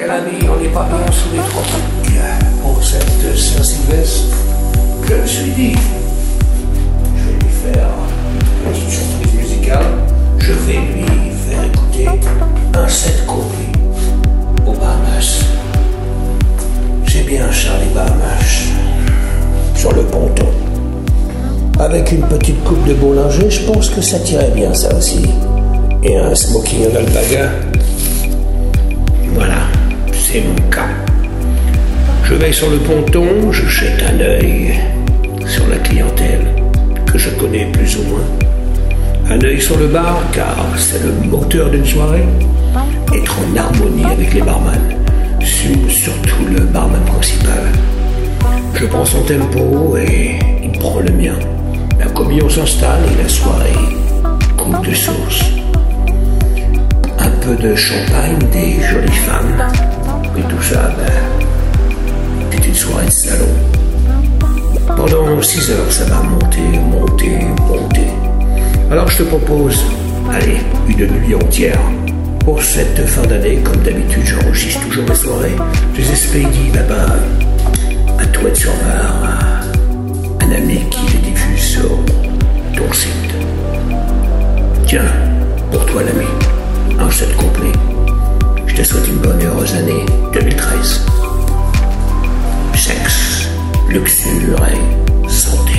l'ami, on n'est pas bien sous les tropiques. Pour cette Saint-Sylvestre, je me suis dit, je vais lui faire une petite surprise musicale. Je vais lui faire écouter un set complet aux Bahamas. J'ai bien Charlie Bahamas sur le ponton. Avec une petite coupe de boulanger, je pense que ça tirait bien ça aussi. Et un smoking en alpaga. Voilà, c'est mon cas. Je vais sur le ponton, je jette un œil sur la clientèle que je connais plus ou moins. Un œil sur le bar, car c'est le moteur d'une soirée. Être en harmonie avec les barman, surtout le barman principal. Je prends son tempo et il prend le mien. La communion s'installe et la soirée coule de sauce. Un peu de champagne, des jolies femmes. Et tout ça, c'est une soirée de salon. Pendant 6 heures, ça va monter. Alors je te propose, allez, une nuit entière. Pour cette fin d'année, comme d'habitude, j'enregistre toujours mes soirées. Je les ai expédiées là-bas, à Toilette-sur-Var, un ami qui les diffuse sur ton site. Tiens, pour toi l'ami, un set complet. Je te souhaite une bonne et heureuse année 2013. Sexe, luxure et santé.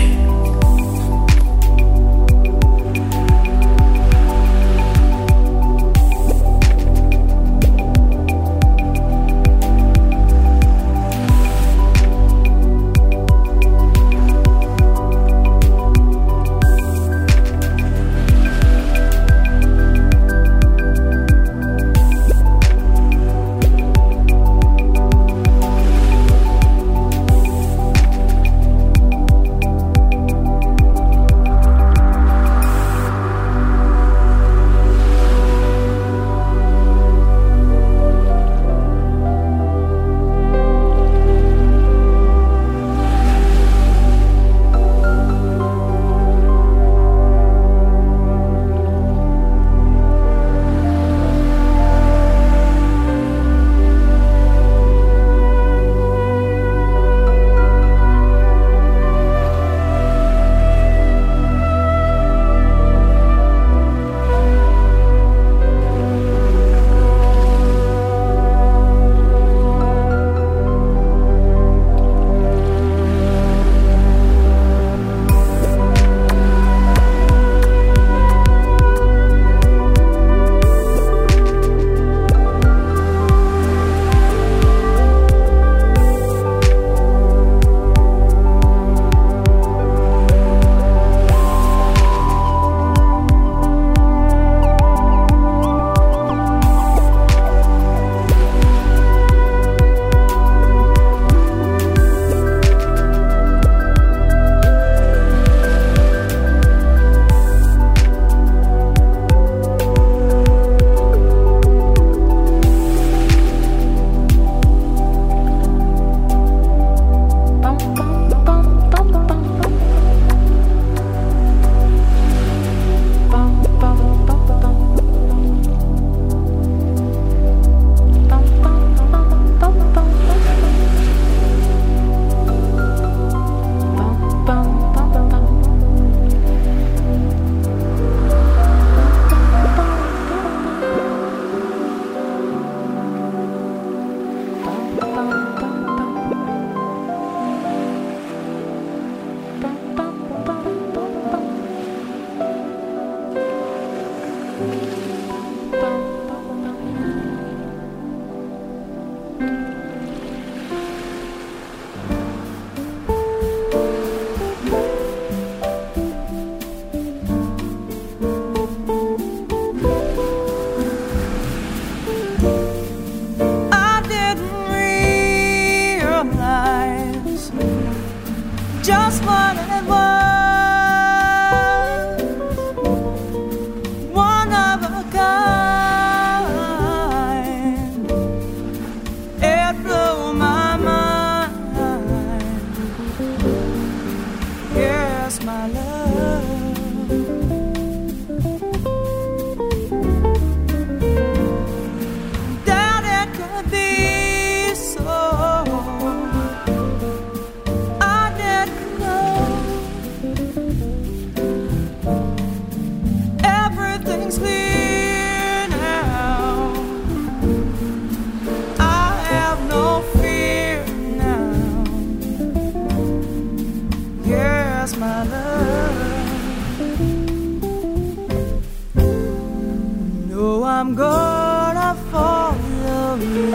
I'm gonna follow you.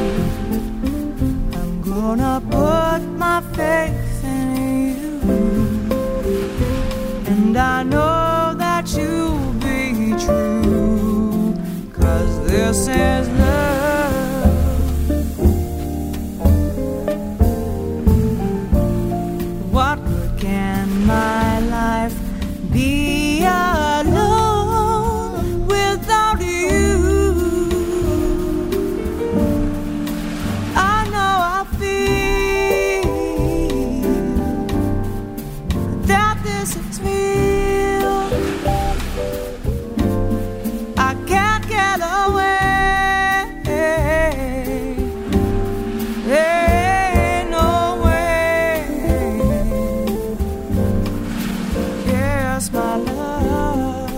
I'm gonna put my faith in you. And I know that you'll be true, 'cause this is love. What good can my life be alone without you? I know I feel that this is real. I can't get away. Ain't no way. Yes, my love.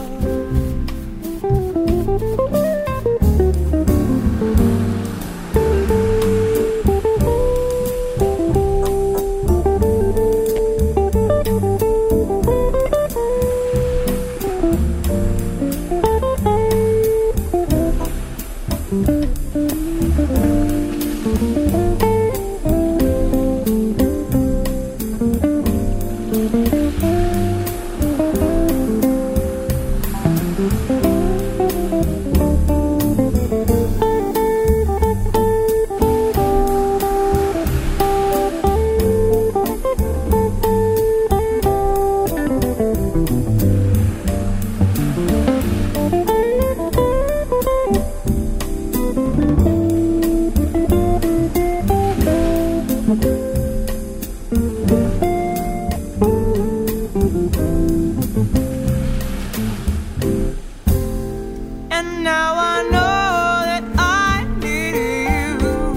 And now I know that I need you.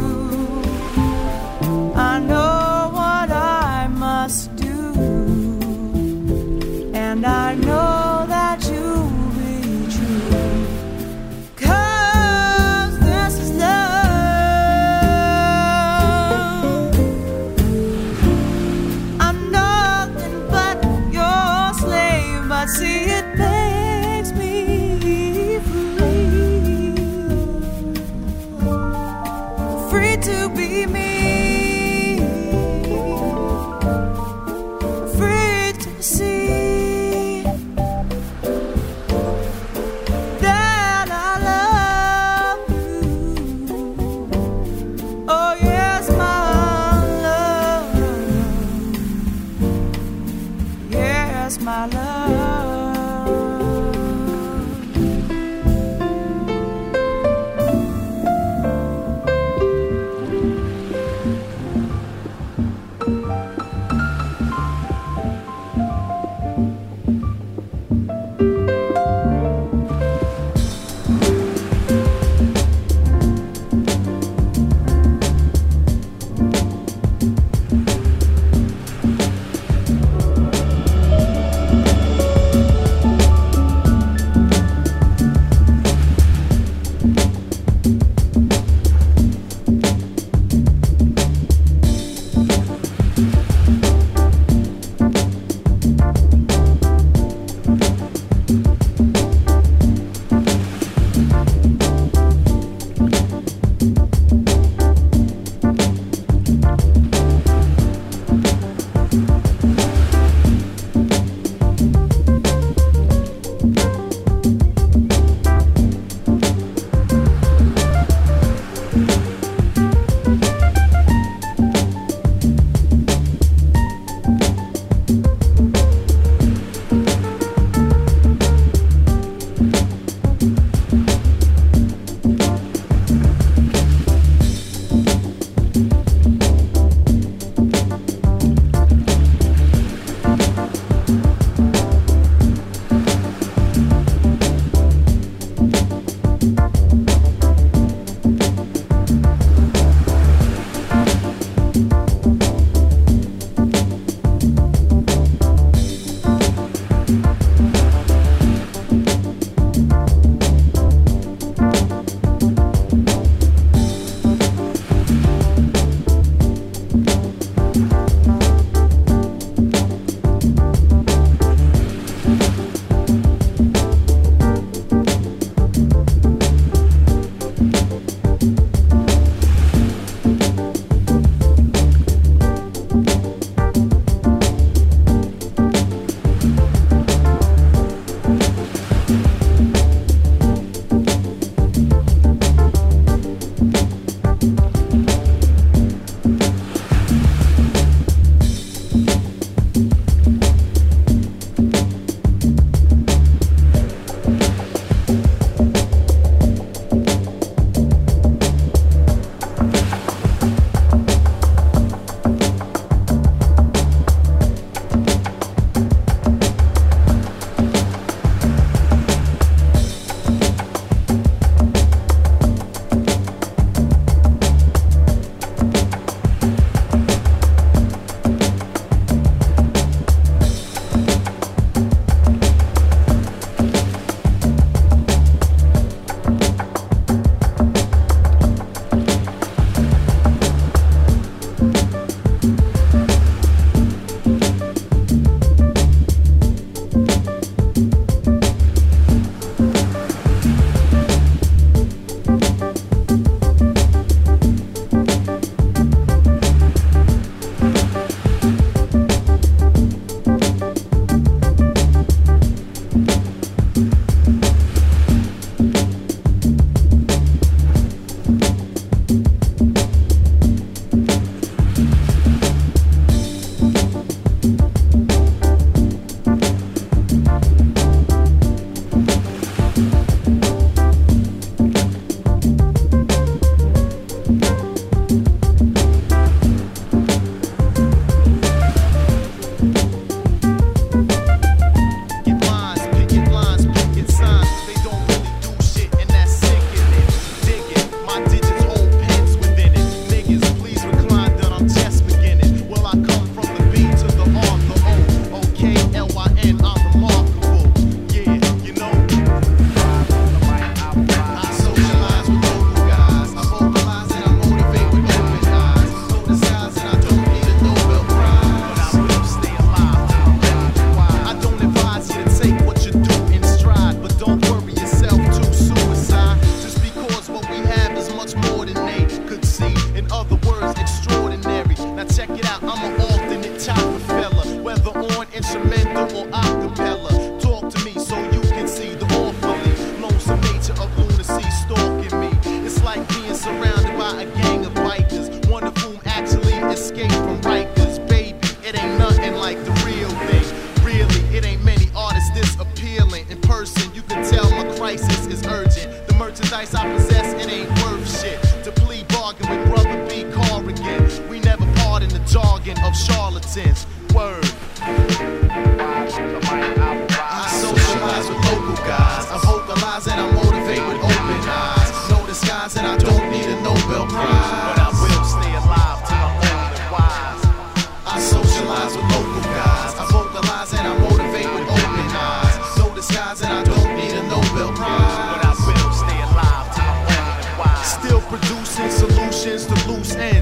I know what I must do, and I know that you'll be true, 'cause this is love. I'm nothing but your slave, but see it makes me free to be me, free to see that I love you. Oh yes, my love. Yes, my love.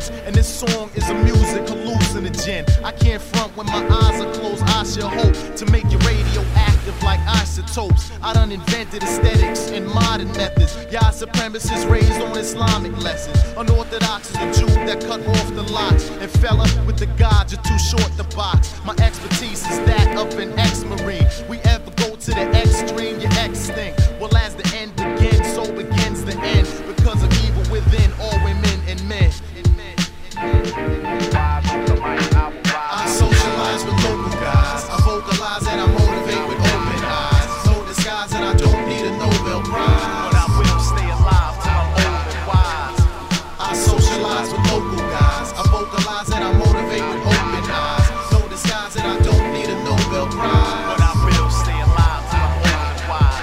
language, and this song is a music hallucinogen. I can't front when my eyes are closed. I should hope to make your radio active like isotopes. I done invented aesthetics and modern methods. Y'all supremacists raised on Islamic lessons. Unorthodox is the Jew that cut off the locks. And fella, with the gods, you're too short to box. My expertise is that of an ex-marine. We ever go to the extreme, you're extinct. Well, as the end begins, so begins the end. Because of evil within all women and men. I socialize with local guys. I vocalize and I motivate with open eyes. No disguise and I don't need a Nobel Prize. But I will stay alive till I'm old and wise. I socialize with local guys. I vocalize and I motivate with open eyes. No disguise and I don't need a Nobel Prize. But I will stay alive till I'm old and wise.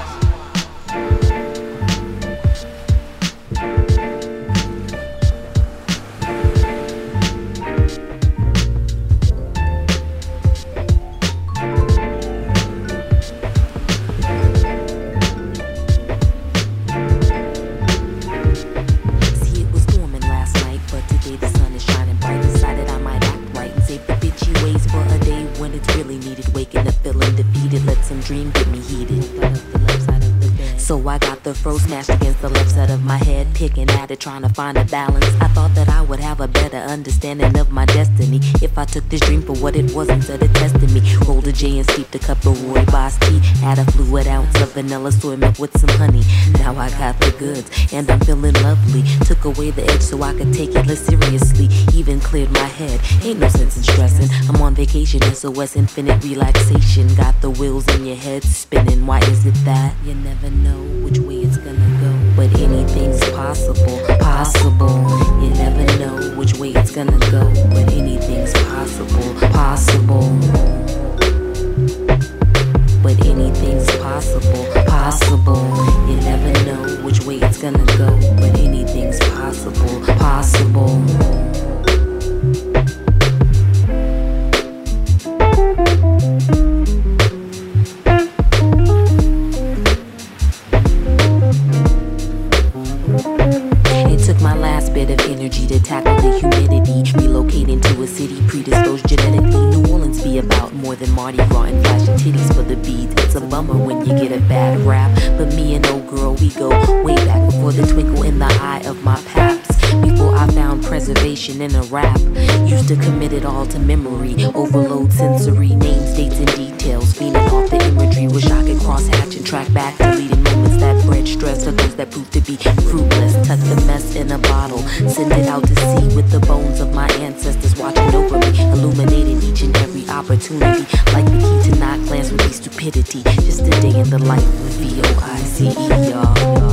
Dream get me heated. So I got the fro smashed against the left side of my head, picking at it, trying to find a balance. I thought that I would have a better understanding of my destiny if I took this dream for what it was instead of testing me. Rolled a J and steeped a cup of rooibos tea. Add a fluid ounce of vanilla soy milk with some honey. Now I got the goods and I'm feeling lovely. Took away the edge so I could take it less seriously. Even cleared my head. Ain't no sense in stressing. I'm on vacation, SOS infinite relaxation. Got the wheels in your head spinning. Why is it that you never know which way it's gonna go? But anything's possible, possible. You never know which way it's gonna go. But anything's possible, possible. But anything's possible, possible. You never know which way it's gonna go. But anything's possible, possible. Bit of energy to tackle the humidity. Relocating to a city predisposed genetically. New Orleans be about more than Mardi Gras and flashing titties for the beads. It's a bummer when you get a bad rap, but me and old girl, we go way back before the twinkle in the eye of my paps. Before I found preservation in a rap, used to commit it all to memory. Overload sensory names, dates, and details. Feeding off the imagery. Wish I could cross-hatch and track back deleting moments that bred stress for those that proved to be fruitless. Tuck the mess in a bottle, send it out to sea with the bones of my ancestors watching over me, illuminating each and every opportunity. Like the key to not glance would be stupidity. Just a day in the life of VOICE, y'all.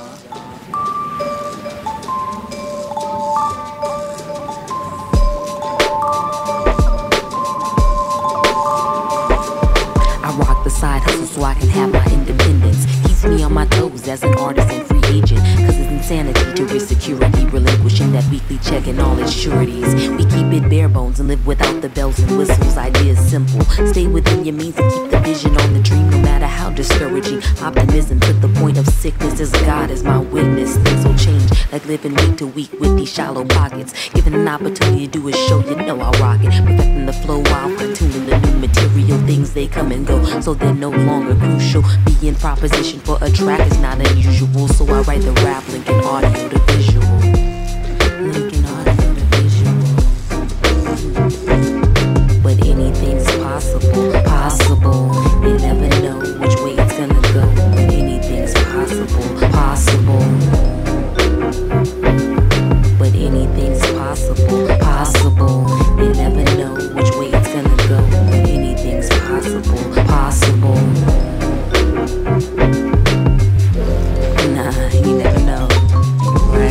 Side hustle so I can have my independence. Keeps me on my toes as an artist and free agent. Cause it's insanity to risk security, relinquishing that weekly check and all its sureties. We keep it bare bones and live without the bells and whistles. Ideas simple. Stay within your means and keep the vision on the dream, no matter how discouraging. Optimism to the point of sickness as God is my witness. Things will change, like living week to week with these shallow pockets. Given an opportunity to do a show, you know I'll rock it. Perfecting the flow while fine-tuning the new material. Things they come and go, so they're no longer crucial. Being proposition for a track is not unusual, so I write the rap, linking audio to visual. Linking audio to visual. But anything's possible, possible. You never know which way it's gonna go. But anything's possible, possible. But anything's possible, possible. You never know which way it's gonna go. But anything's possible, possible. Nah, you never know, right?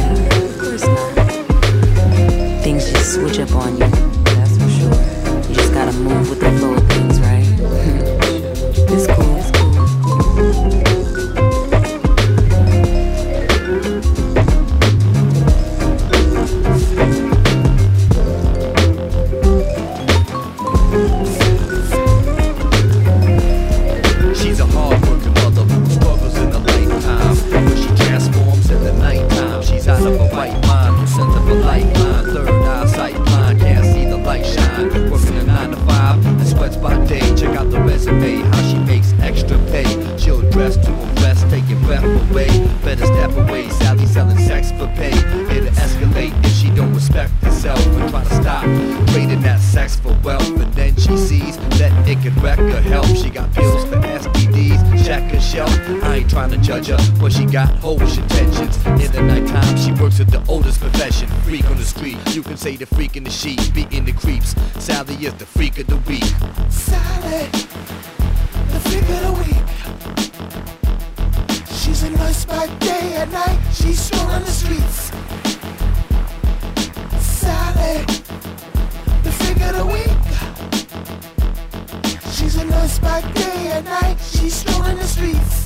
ain't trying to judge her, but she got hoish intentions. In the nighttime, she works at the oldest profession. Freak on the street, you can say the freak in the sheet, beating the creeps. Sally is the freak of the week. Sally, the freak of the week. She's a nurse by day and night, she's strolling the streets. Sally, the freak of the week. She's a nurse by day and night, she's strolling the streets.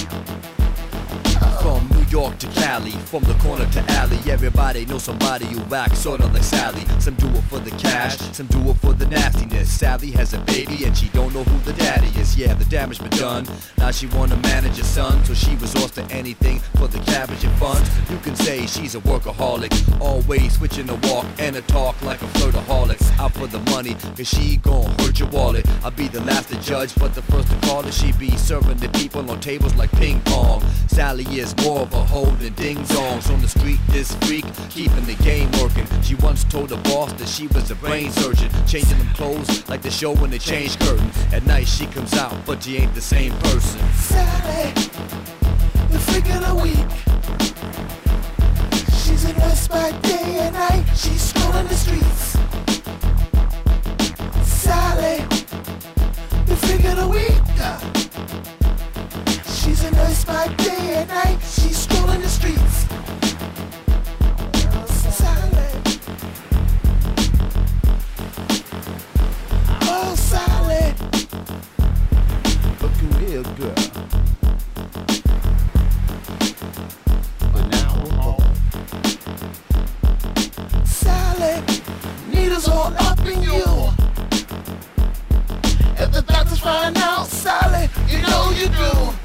From New York to Cali, from the corner to alley, everybody knows somebody who acts sorta like Sally. Some do it for the cash, some do it for the nastiness. Sally has a baby and she don't know who the daddy is. Yeah, the damage been done. Now she wanna manage her son, so she resorts to anything for the cabbage and funds. You can say she's a workaholic, always switching the walk and a talk like a flirtaholic. Out for the money, cause she gon' hurt your wallet. I'll be the last to judge, but the first to call it. She be serving the people on tables like ping pong. Sally is more of a hoe than ding-dongs on the street. This freak, keeping the game working. She once told the boss that she was a brain surgeon, changing them clothes like the show when they change curtains. At night she comes out, but she ain't the same person. Sally, the freak of the week. She's a nurse by day and night, she's strolling the streets. Sally, the freak of the week. She's a nurse by day and night, she's strolling the streets. Sally, oh Sally, Looking real good. but now we're home. Sally, needles all up in you. If the doctors find out, Sally, you know you do.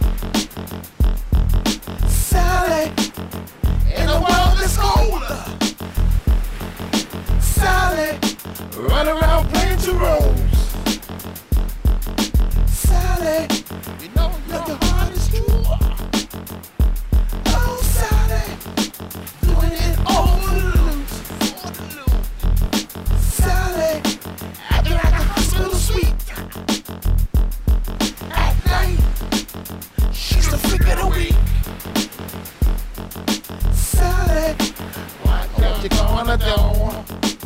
Sally, in a world that's older. Sally, run around playing two roles. Sally, you know your heart is true. Oh, Sally, doing it all for the loot. Sally, acting like a hospital suite. At night, she's the freak of the week. Sally, what you gonna do?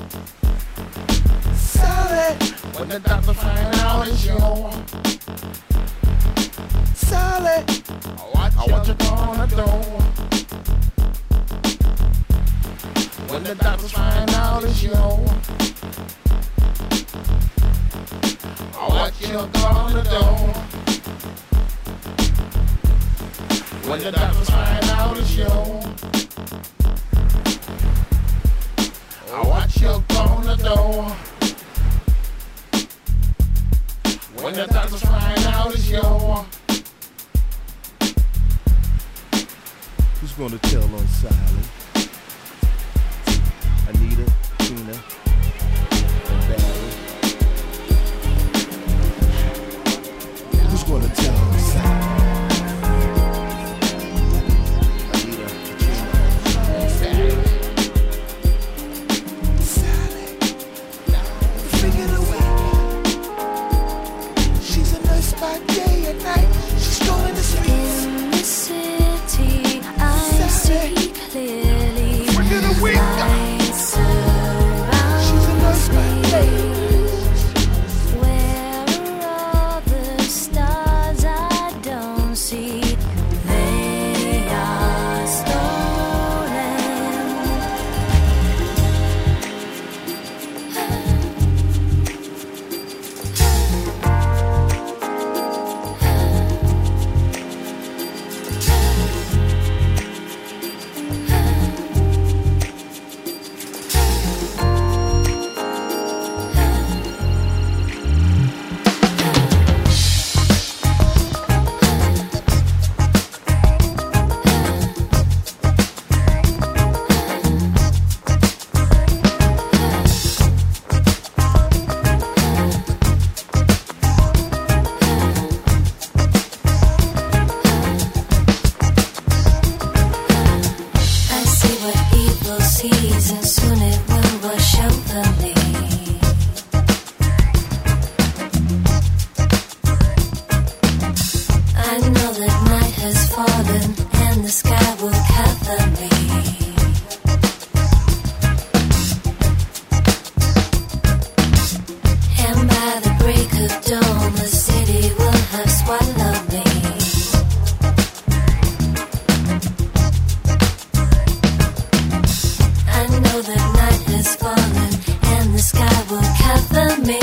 Sally, when the doctor find out it's you. Sally, what you gonna do? When the doctors find out it's you. What you gonna do? When the doctors find out it's you. What you gonna do? When the doctors find out it's you. Who's gonna tell on Sally? Anita, Tina, and Barry. Who's gonna tell on Sally? Anita, Tina, and Barry. Sally, freak of the week. She's a nurse by day and night. She's strolling the streets. In the city, I see clearly. Freak of the week. Lights surround She's a nurse by day. Where are all the stars I don't see? They are stolen. I see what evil sees, and soon it will wash over me. I know that night has fallen and the sky will cover me. And by the break of dawn, the city will have swallowed me. I know that night has fallen and the sky will cover me.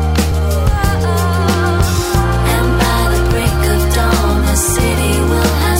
City will have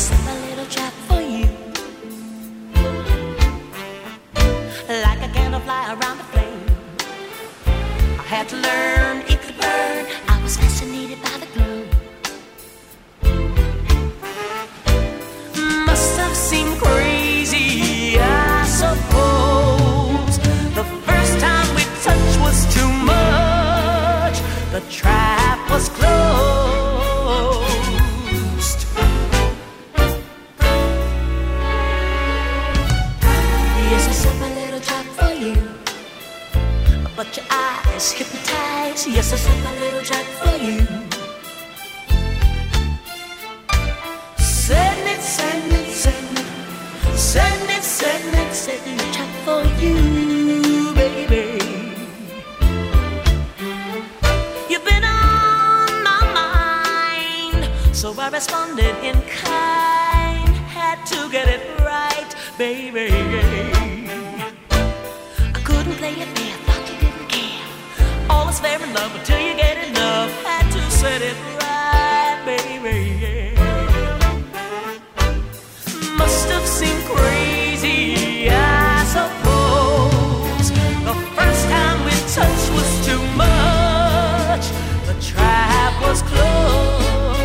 set a little trap for you. Like a candle fly around the flame. I had to learn it could burn. I was fascinated by the glow. Must have seemed crazy, I suppose. The first time we touched was too much. The trap was closed. Yes, I set my little trap for you, but your eyes hypnotize. Yes, I set my little trap for you. Setting it, setting it, setting it, setting it, setting it, setting a trap for you, baby. You've been on my mind, so I responded in kind. Had to get it right, baby. I couldn't play it fair, thought you didn't care. All is fair in love until you get enough. Had to set it right, baby. Must have seemed crazy, I suppose. The first time we touched was too much. The trap was closed.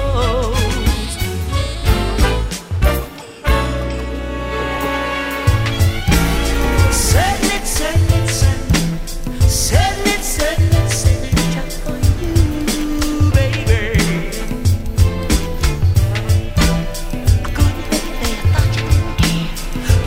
Setting it, setting it, setting it, setting it, setting it, setting a trap for you, baby. I couldn't play it there, thought you didn't care.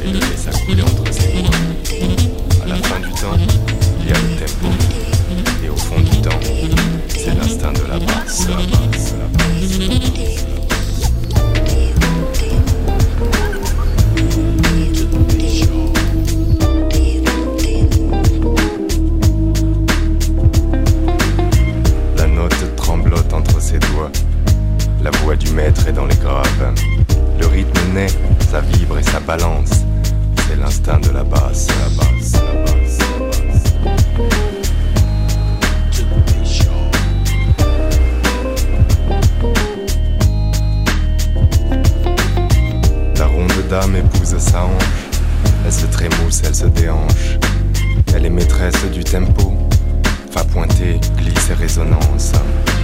et de laisser couler entre ses doigts. À la fin du temps, il y a le tempo. Et au fond du temps, c'est l'instinct de la basse, la basse, la basse, la basse. La note tremblote entre ses doigts. La voix du maître est dans les graves. Le rythme naît, ça vibre et ça balance. C'est l'instinct de la basse, la basse, la basse, la basse. La ronde dame épouse sa hanche. Elle se trémousse, elle se déhanche. Elle est maîtresse du tempo. Fa pointer, glisse et résonance.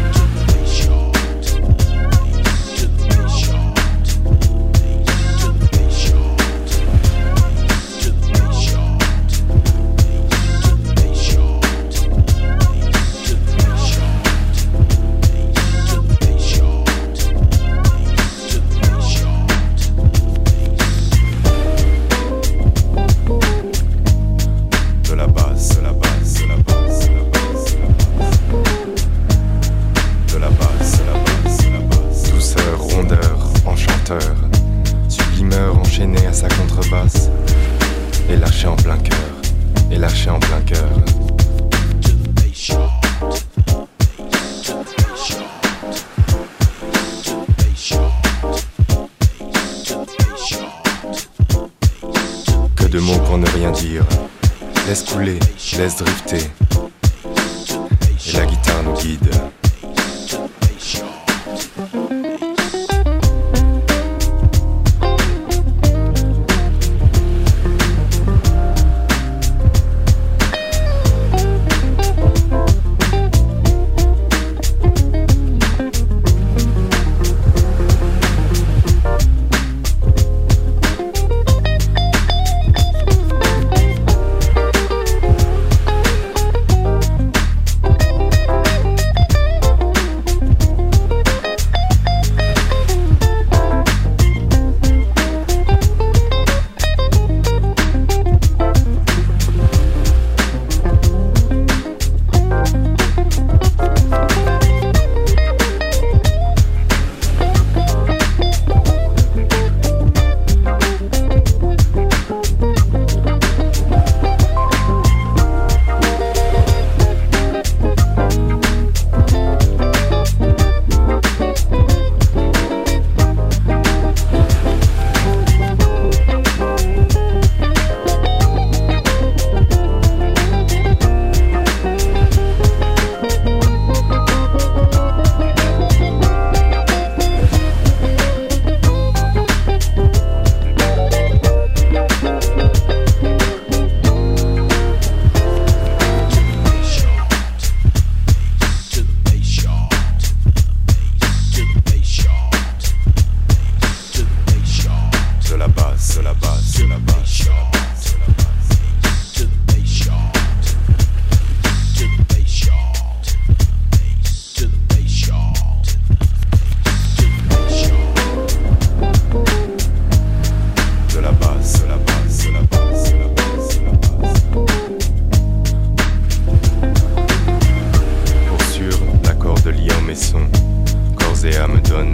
Sublimeur enchaîné à sa contrebasse. Et lâché en plein cœur. Et lâché en plein cœur. Que de mots pour ne rien dire. Laisse couler, laisse drifter. Et la guitare nous guide.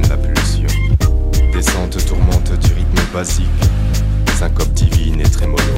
Syncope divine et trémolo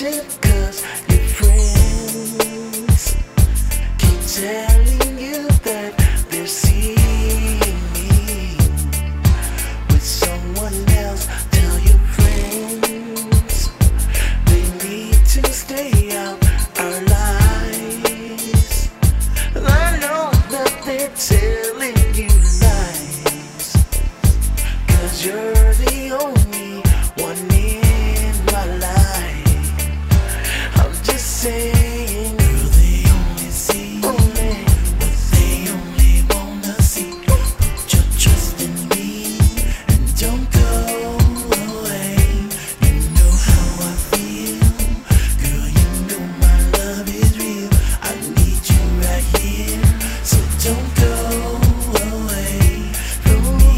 attention, 'cause your friends keep telling you that they're seeing me with someone else. Tell your friends they need to stay out our lives. I know that they're telling you lies, 'cause you're the only one in my life. I'm just saying, girl, they only see what they only wanna see. Put your trust in me and don't go away. You know how I feel, girl, you know my love is real. I need you right here, so don't go away from me.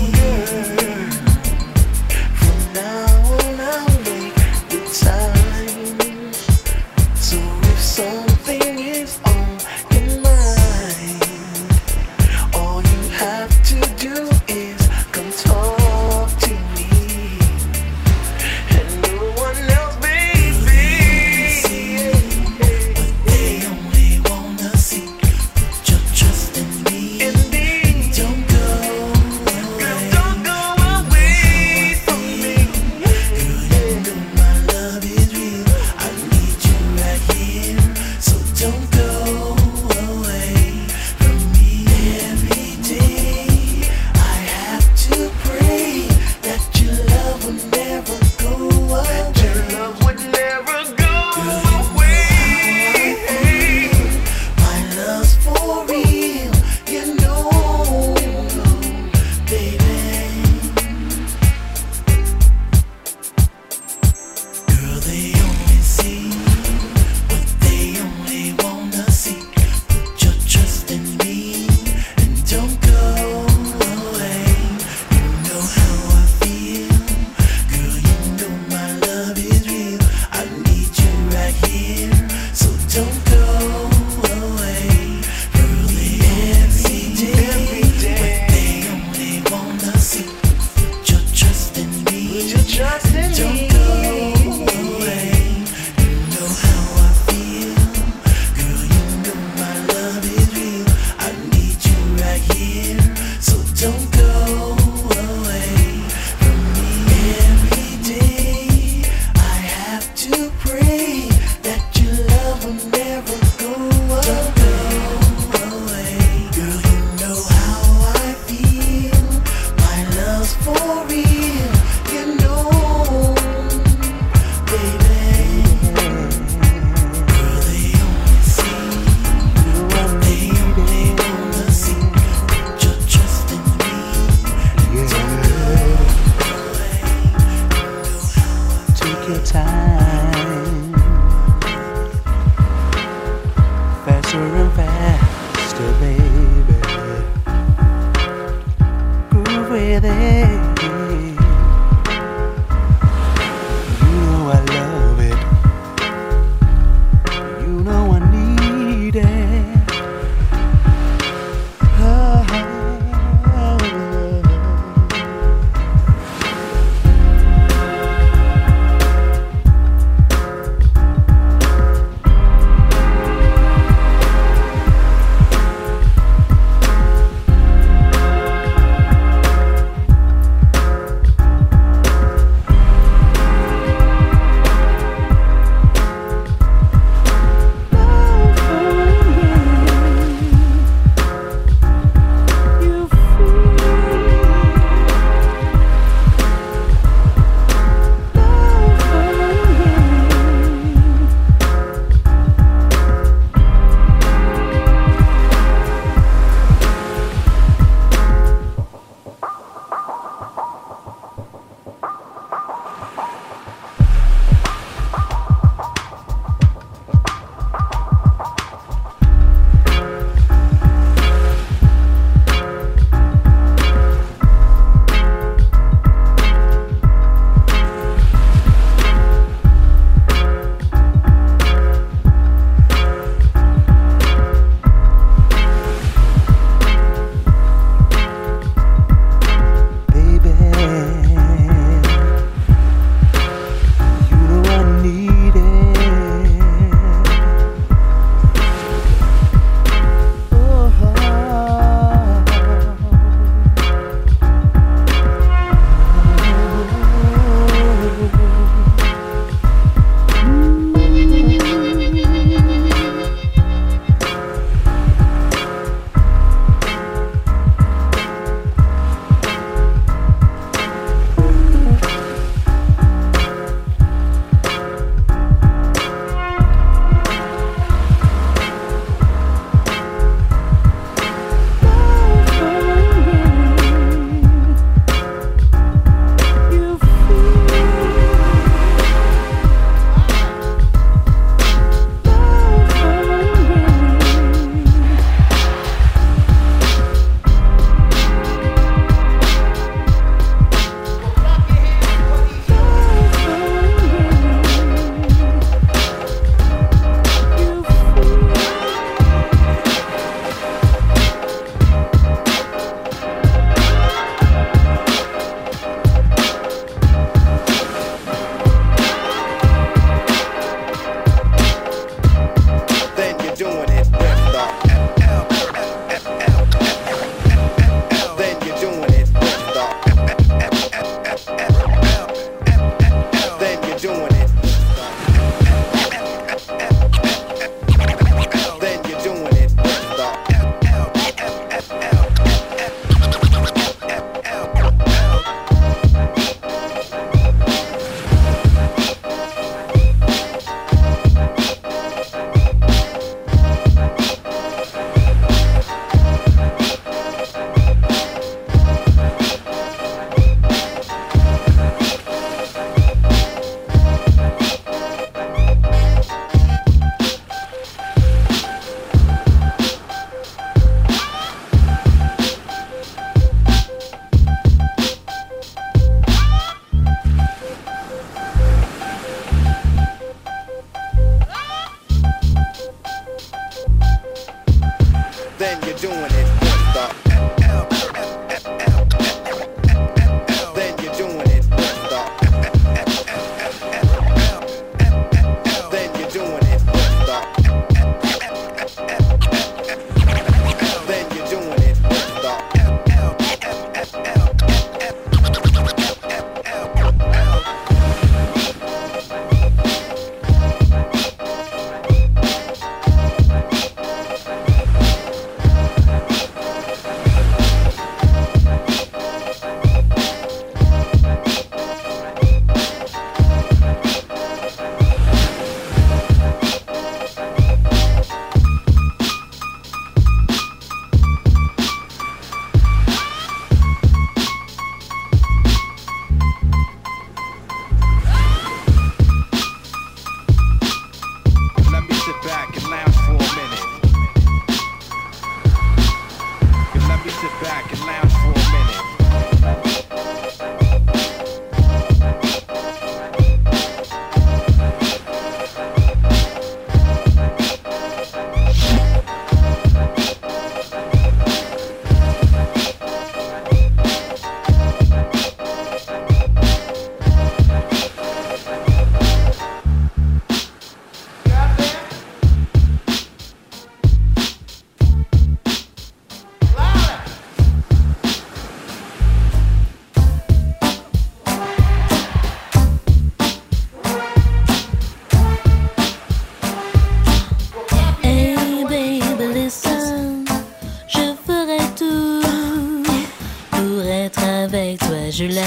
From now on I'll make the time. So if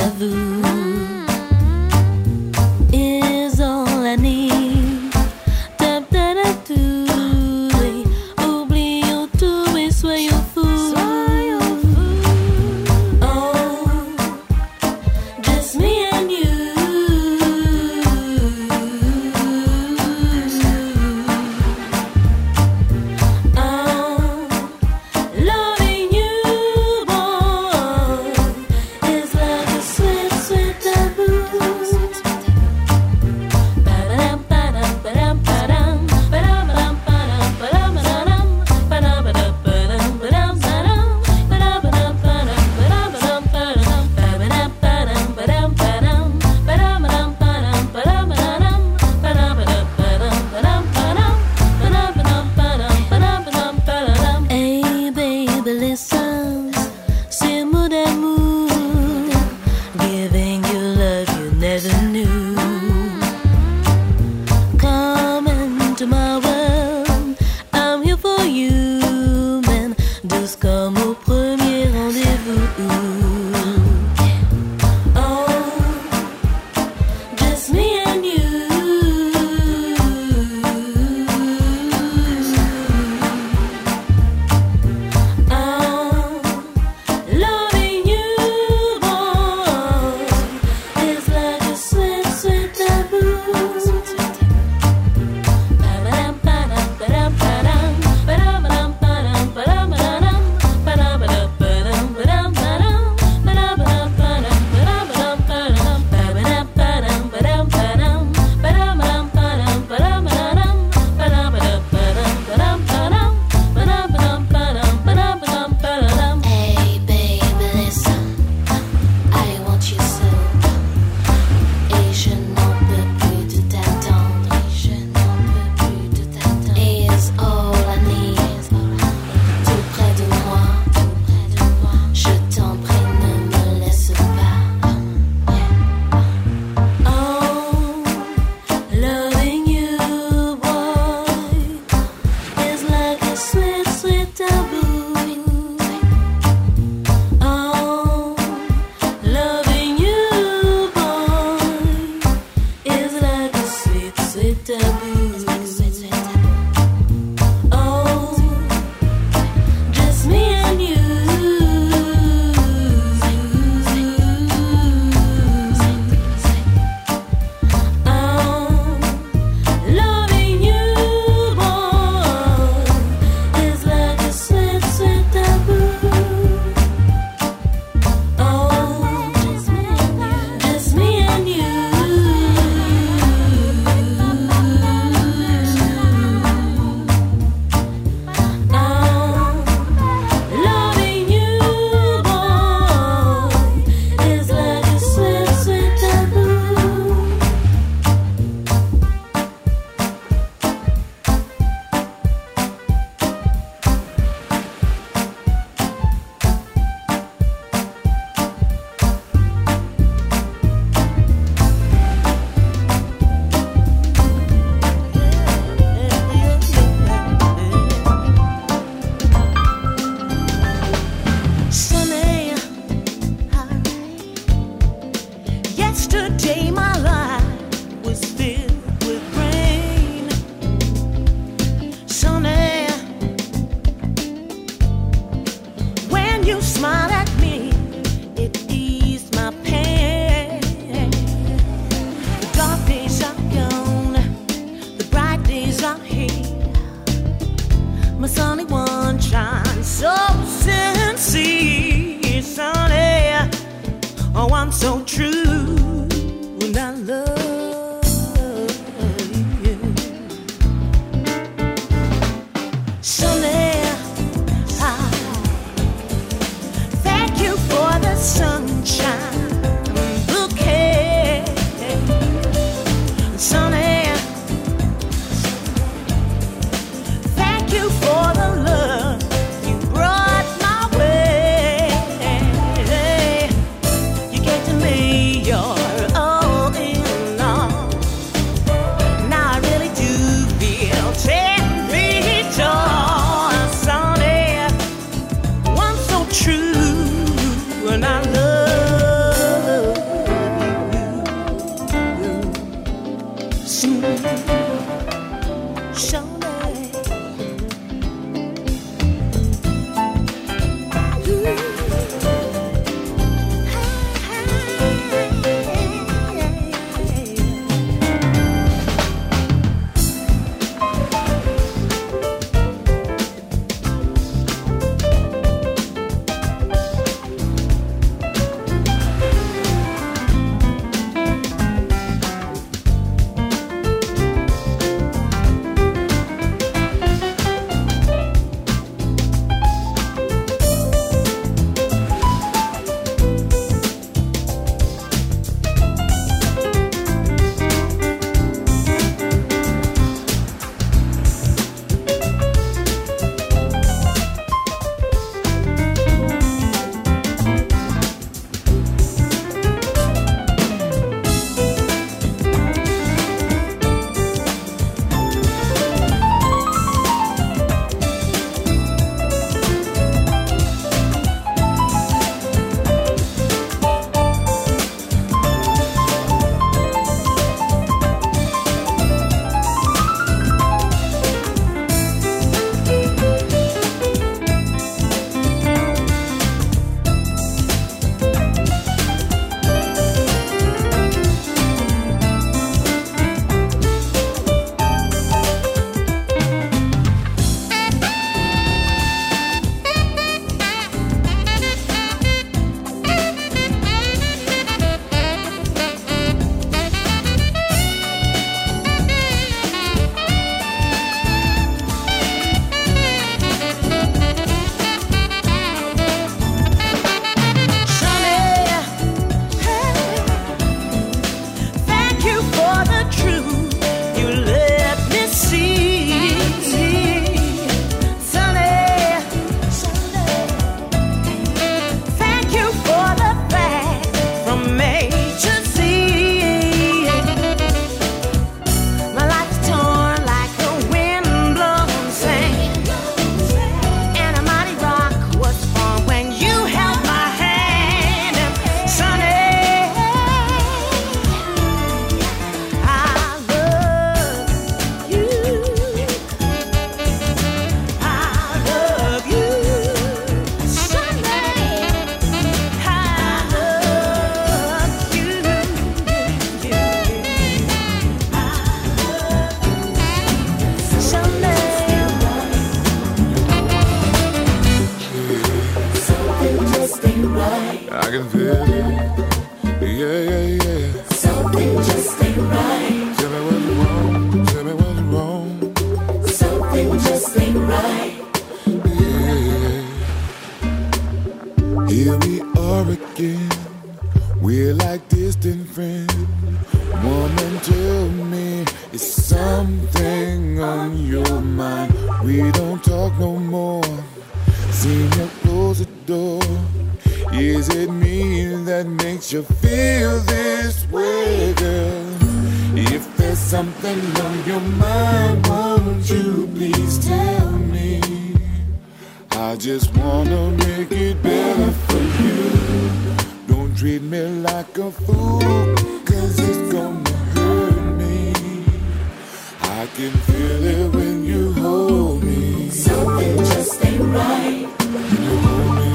vous is all I need. Tap da da tout, oublions tout et soyons fous. Oh, just me and you. Your I can feel it. Yeah, yeah, yeah. Something just ain't right. Tell me what's wrong. Tell me what's wrong. Something just ain't right. Yeah. Here we are again. We're like distant friends. Woman, tell me, is something on your mind? We don't talk no more. Seen you close the door. Is it me that makes you feel this way, girl? If there's something on your mind, won't you please tell me? I just wanna make it better for you. Don't treat me like a fool, 'cause it's gonna hurt me. I can feel it when you hold me. Something just ain't right. When you hold me.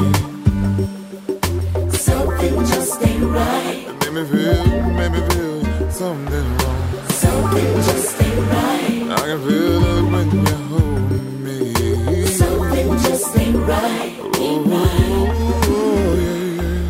Something just ain't right. It made me feel something wrong. Something just ain't right. I can feel it when you hold me. Something just ain't right. Ain't right. Oh, yeah, yeah.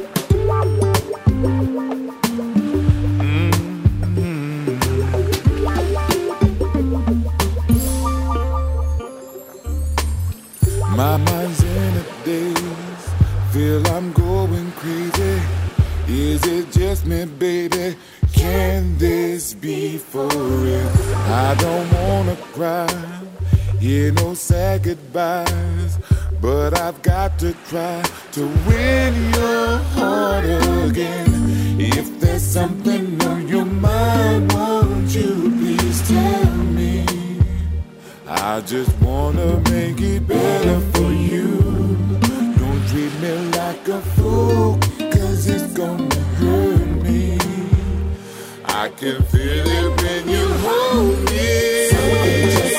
My mind's in a daze. Feel I'm going crazy. Is it just me, baby? Can this be for real? I don't wanna cry, hear no sad goodbyes, but I've got to try to win your heart again. If there's something on your mind, won't you please tell me? I just wanna make it better for you. Don't treat me like a fool, 'cause it's gonna hurt me. I can feel it when you hold me. Something just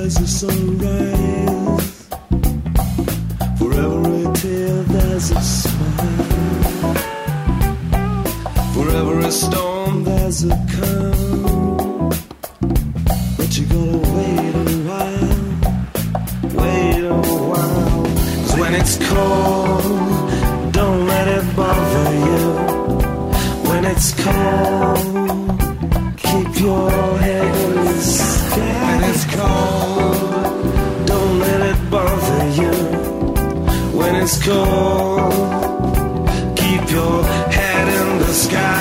there's a sunrise. For every tear there's a smile. For every storm there's a calm. But you gotta wait a while. Wait a while. 'Cause when it's cold, don't let it bother you. When it's cold, keep your head in the sky. When it's cold, don't let it bother you. When it's cold, keep your head in the sky.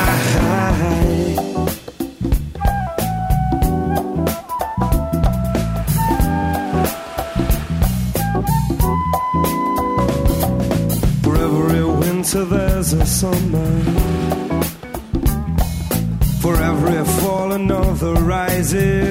For every winter there's a summer. For every fall another rises.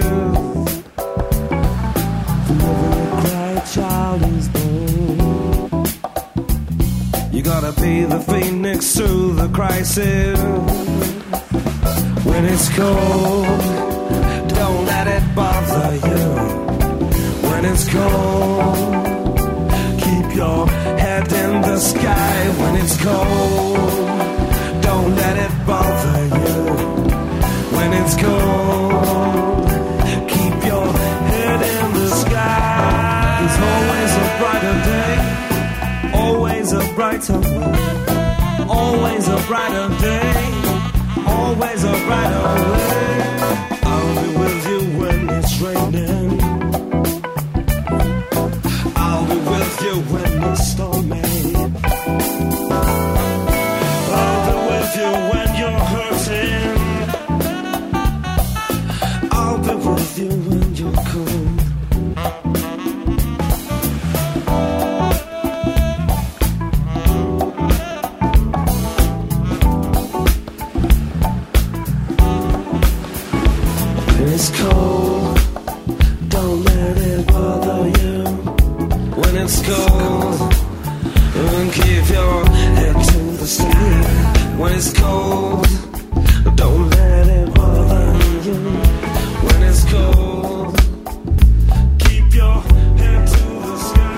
For every cry child is born. You gotta be the phoenix through the crisis. When it's cold, don't let it bother you. When it's cold, keep your head in the sky. When it's cold, don't let it bother you. When it's cold, keep your head in the sky. There's always a brighter day, always a brighter way, always a brighter day, always a brighter way. I'll be with you when it's raining. I'll be with you when it's stormy. I'll be with you when you're hurting. I'll be with you when you're cold. When it's cold, don't let it bother you. When it's cold, and keep your head to the sky. When it's cold, don't let it bother you. When it's cold, keep your head to the sky.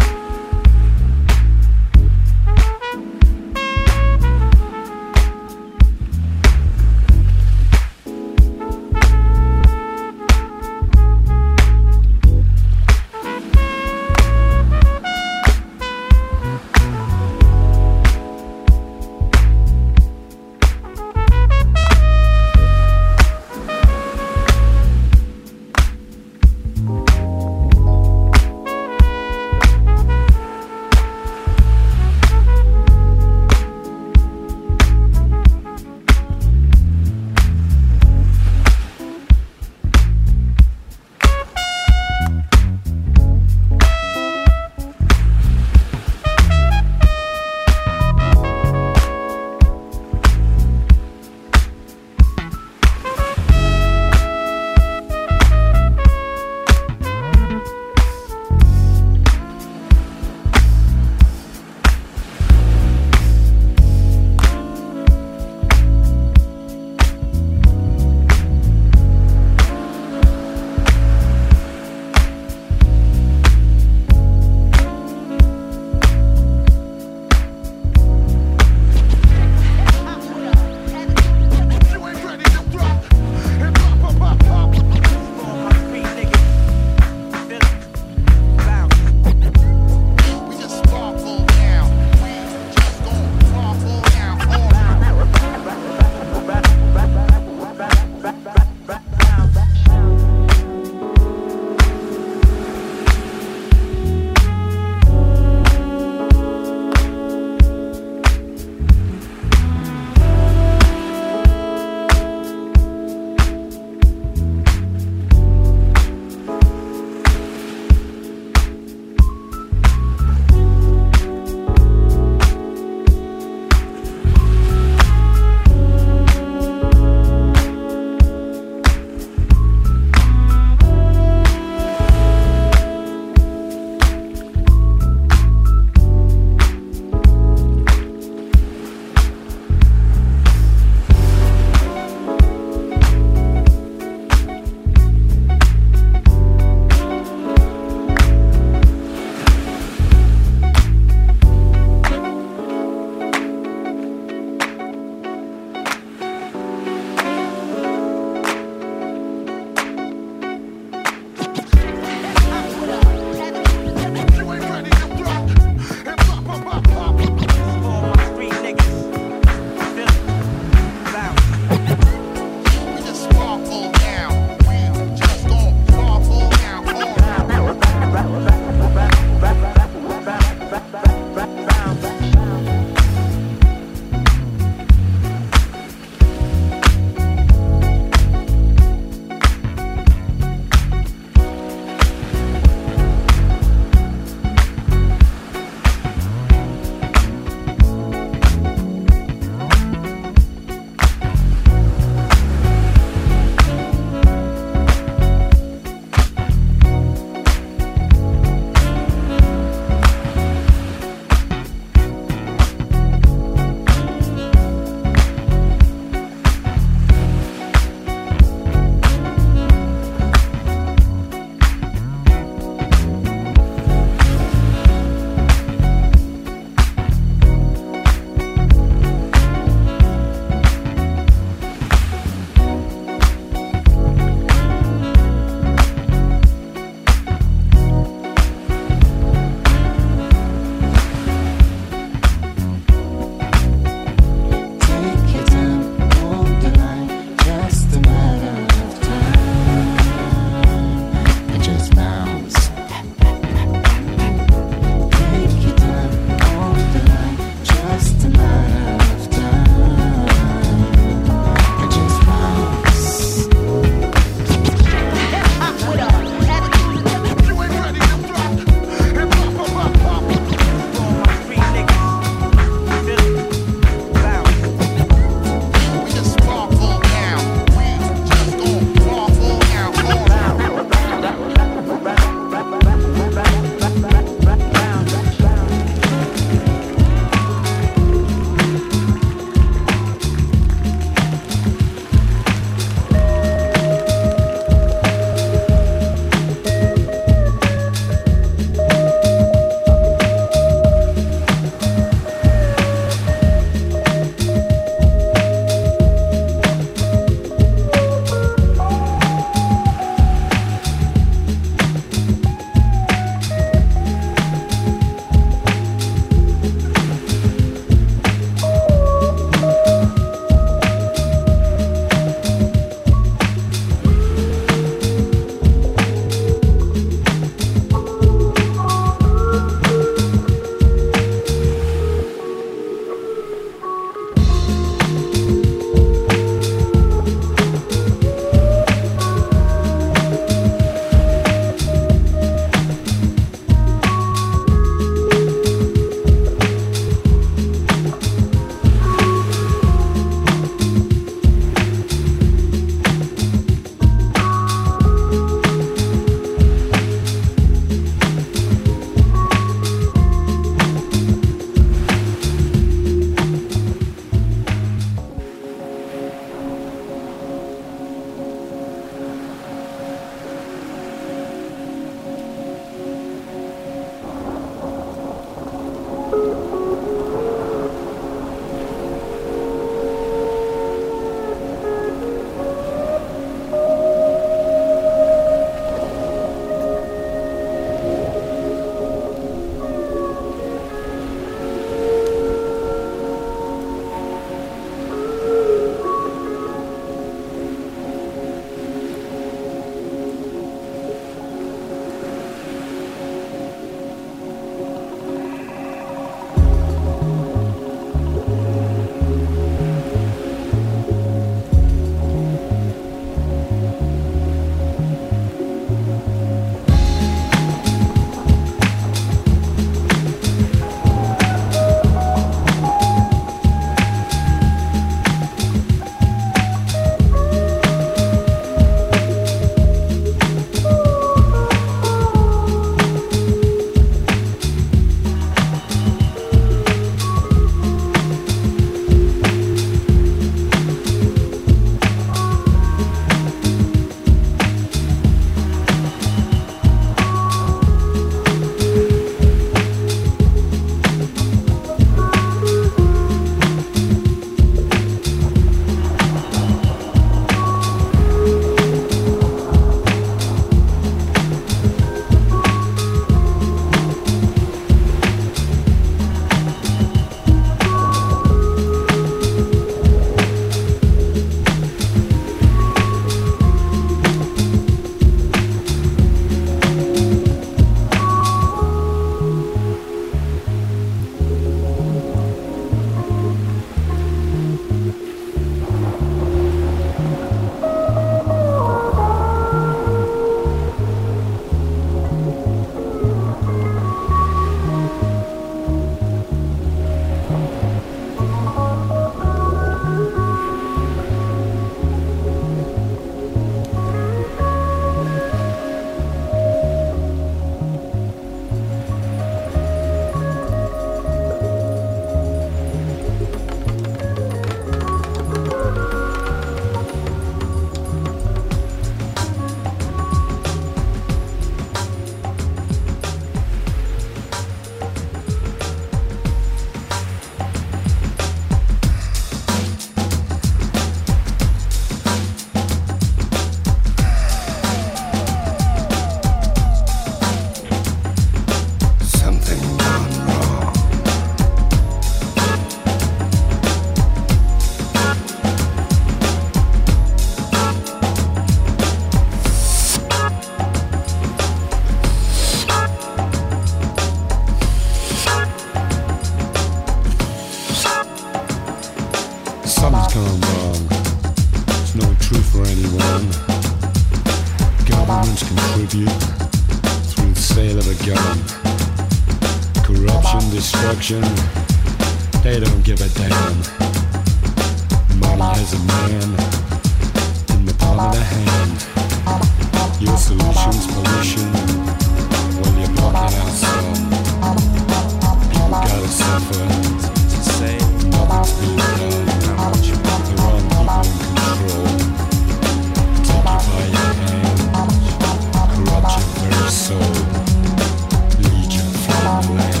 gone wrong. There's no truth for anyone. Governments contribute through the sale of a gun. Corruption, destruction, they don't give a damn. Money has a man in the palm of the hand. Your solution's pollution, well you're blocking out sun. People gotta suffer, nothing's being done. The wrong people in control, take you by your hand, corrupt your very soul, lead you from the land.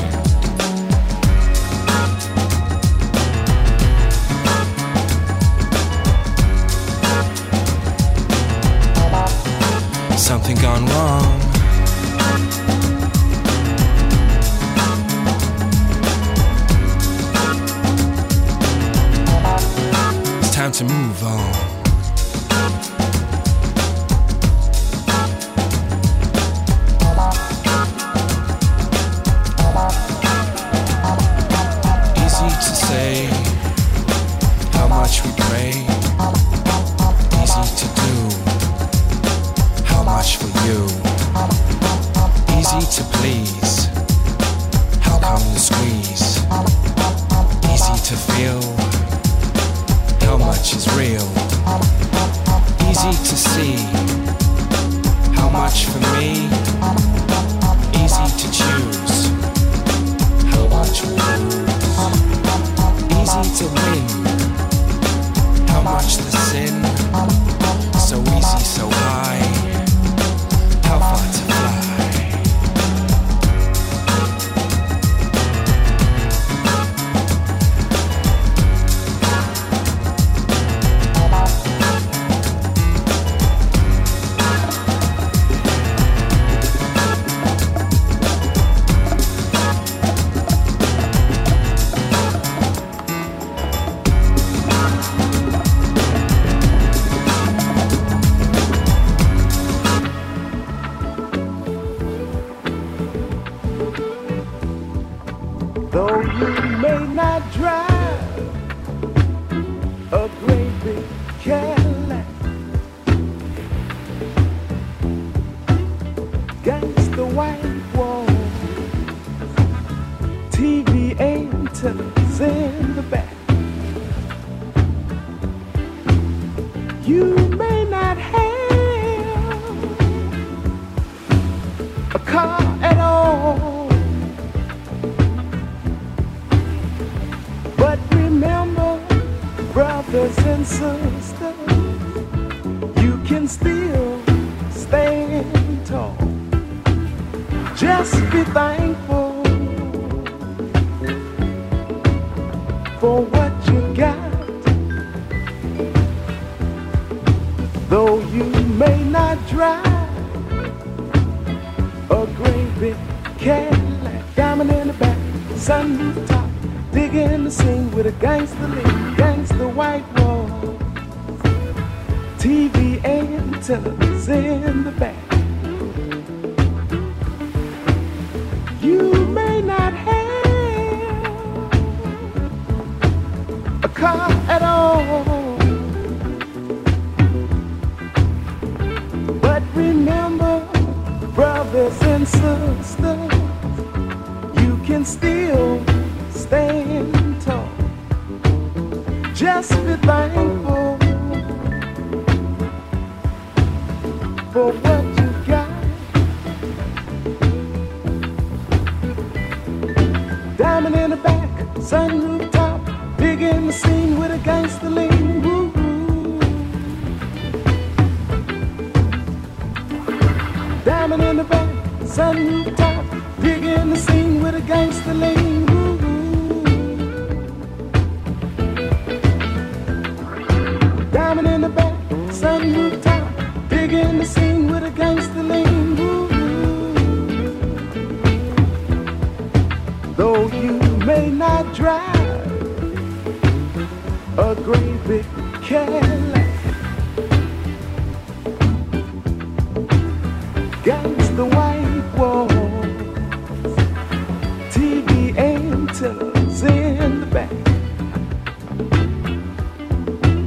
Something gone wrong. It's time to move on. Easy to say how much we pray. Easy to do how much for you. Easy to please. How come you squeeze? Easy to feel how much is real. Easy to see how much for me. Easy to choose how much we lose. Easy to win how much the sin. So easy, so high. How far to fly? Though you may not drive a great big Cadillac, against the white wall, TV antennas in the back. You may not have a car at all, but remember, brothers and sisters, you can still stand tall. Just be thankful for what you got. Though you may not drive a great big Cadillac, diamond in the back, sunroof top, digging the scene with a gangster lean, gangster white wall, TV antennas in the back. You may not have a car at all, but remember, brothers and sisters, you can still stand tall. Just be thankful for what you got. Diamond in the back, sunroof top, big in the scene with a gangster lean. Woo. Diamond in the back, sunroof top, big in the scene with a gangster lean. Woo. Diamond in the back, sunroof top, big in the scene with a gangster lean. Woo. Though you may not drive a great big Cadillac, against the white walls, TV antennas in the back.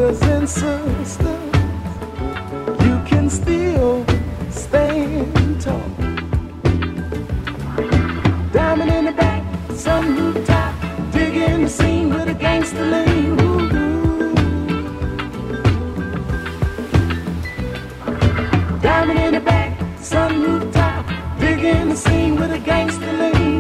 brothers and sisters, you can still stand tall. Diamond in the back, sun rooftop, digging the scene with a gangster lean. Diamond in the back, sun rooftop, digging the scene with a gangster lean.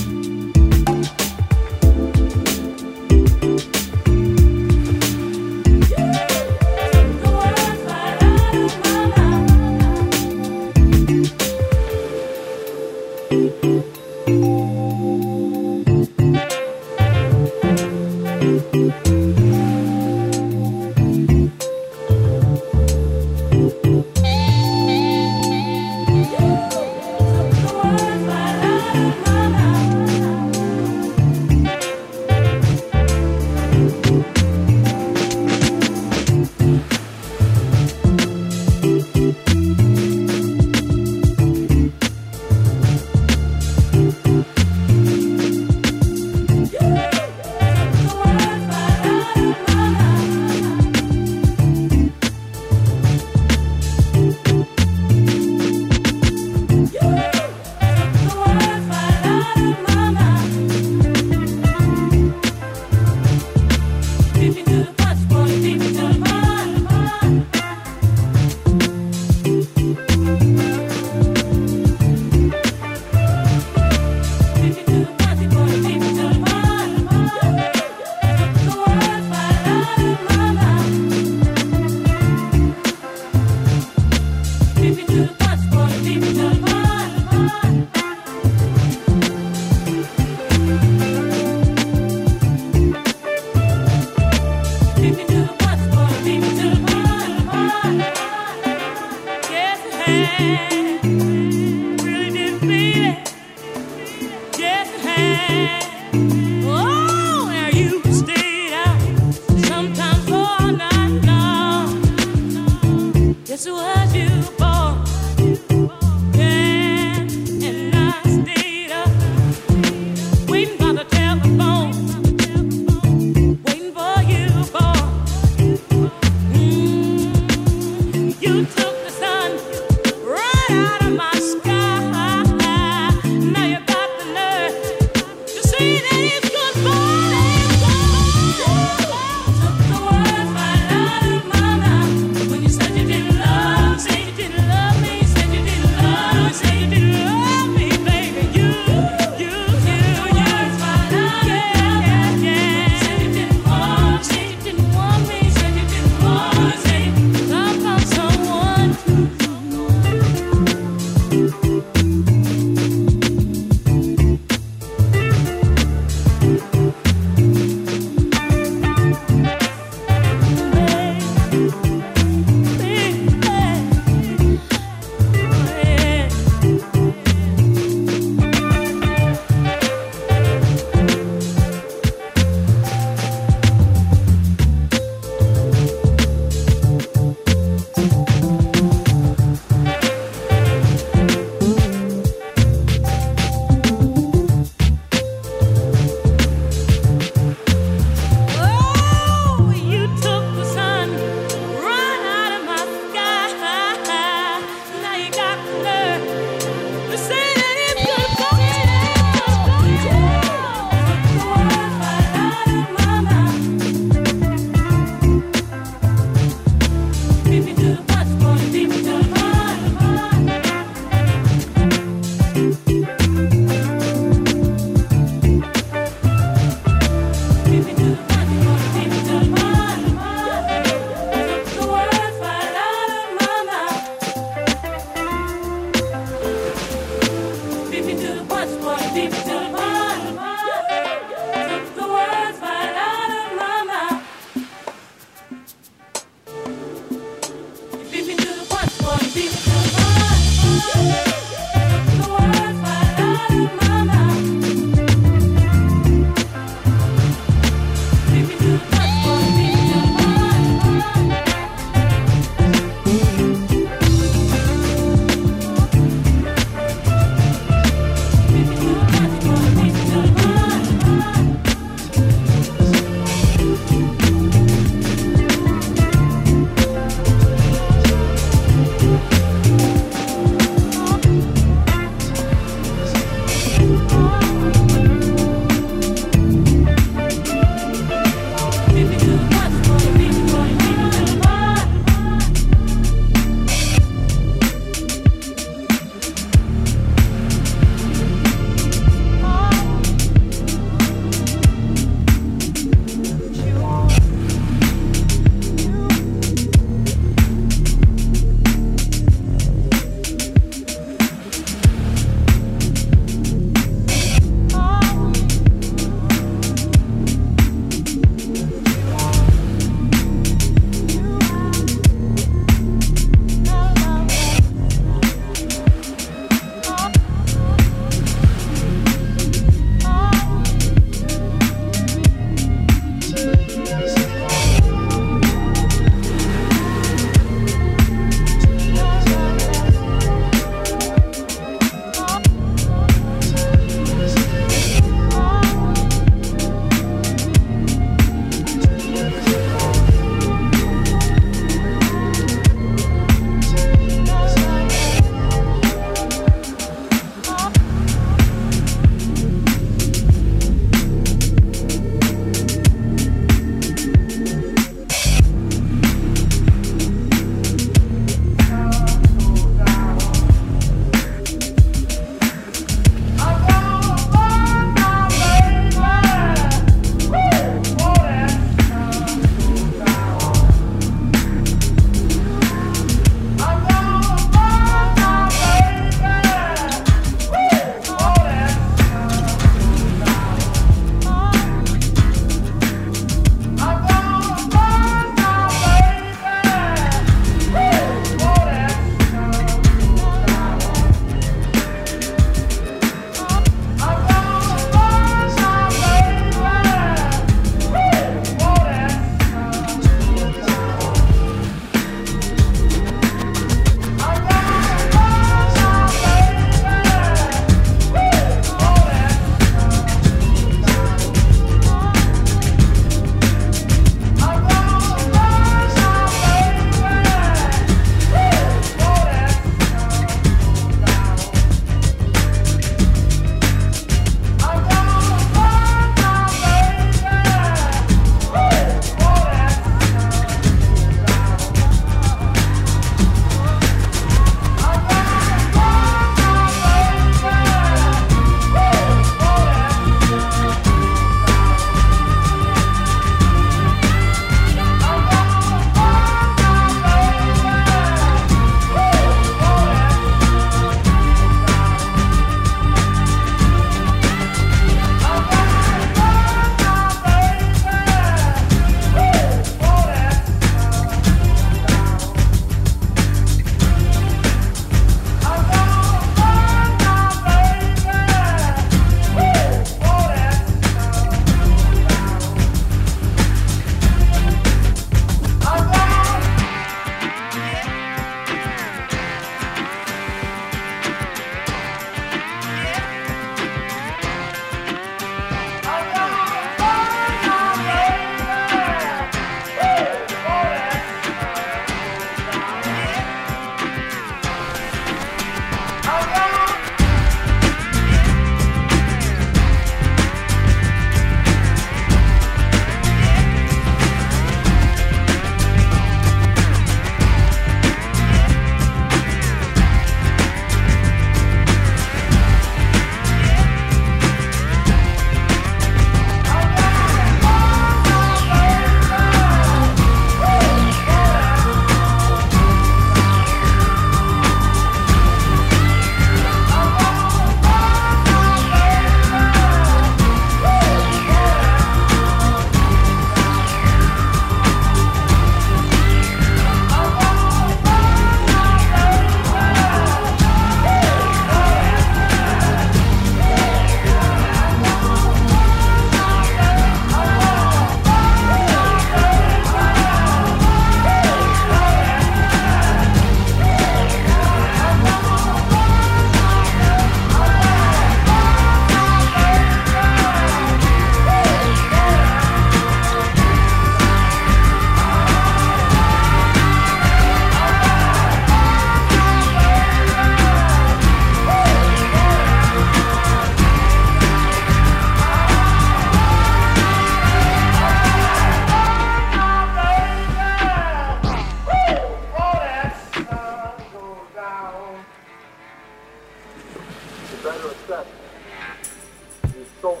better assess the scope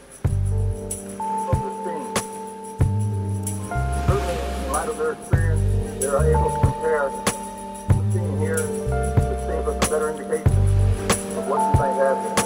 of the scene. Certainly, in light of their experience, they are able to compare the scene here, which gave us a better indication of what you might have here.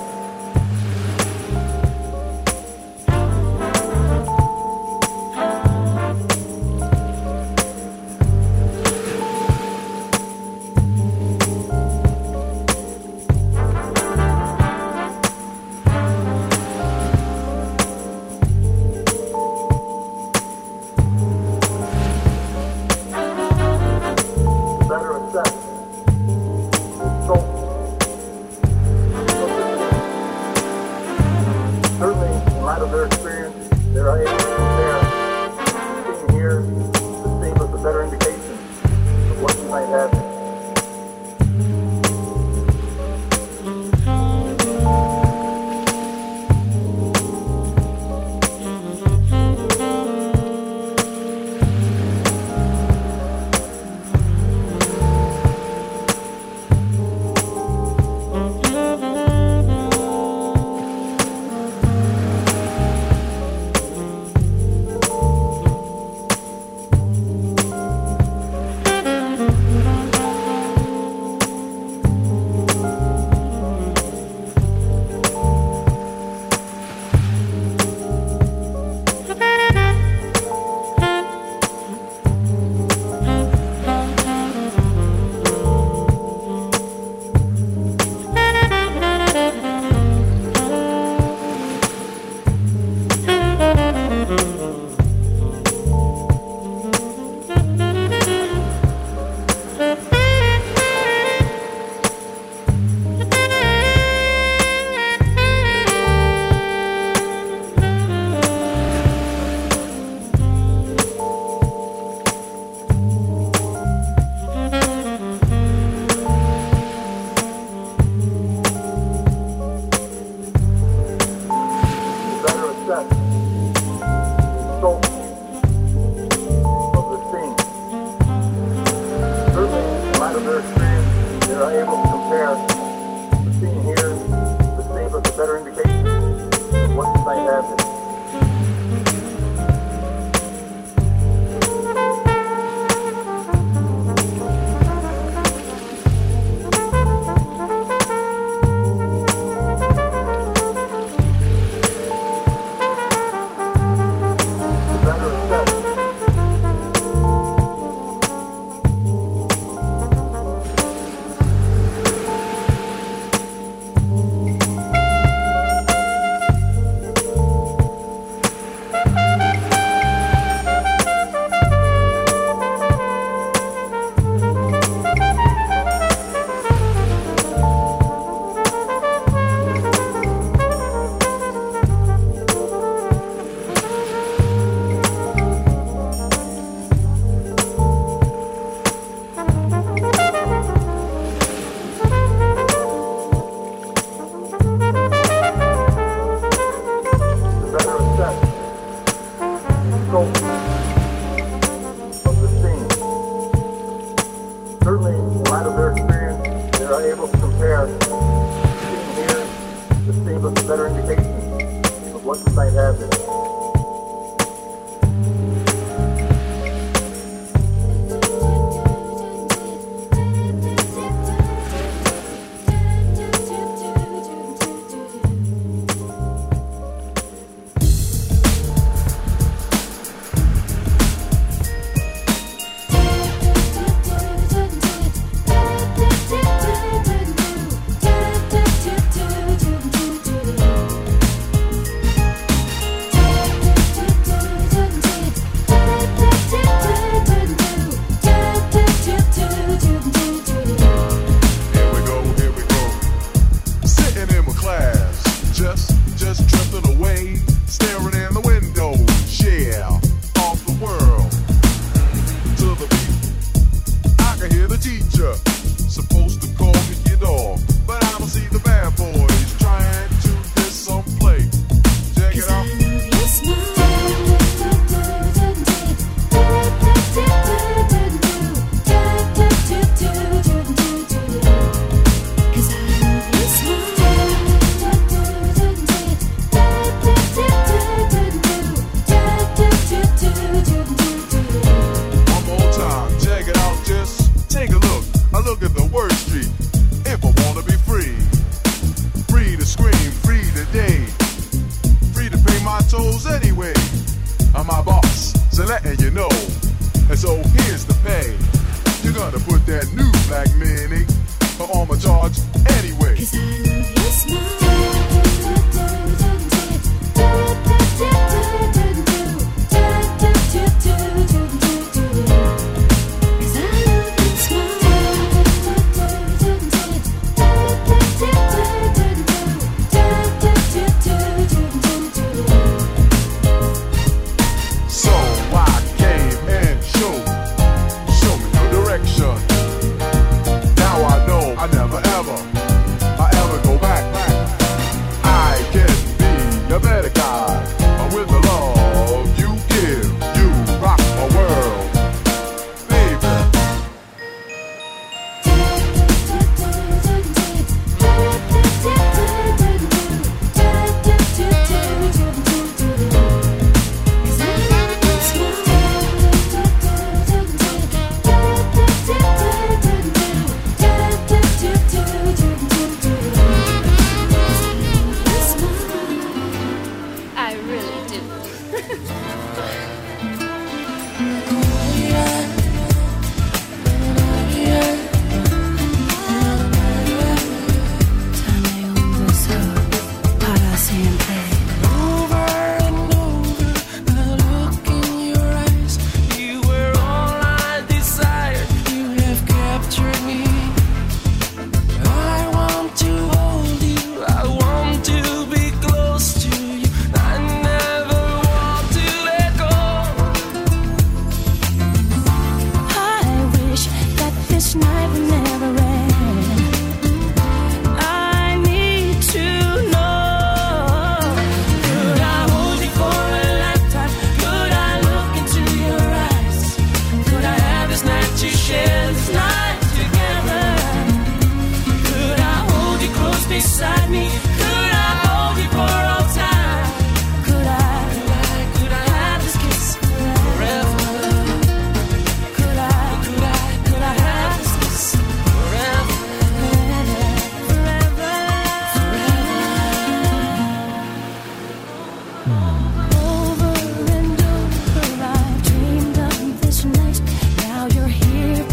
with that new black meaning. But on my charge anyway. 'Cause I love your smile.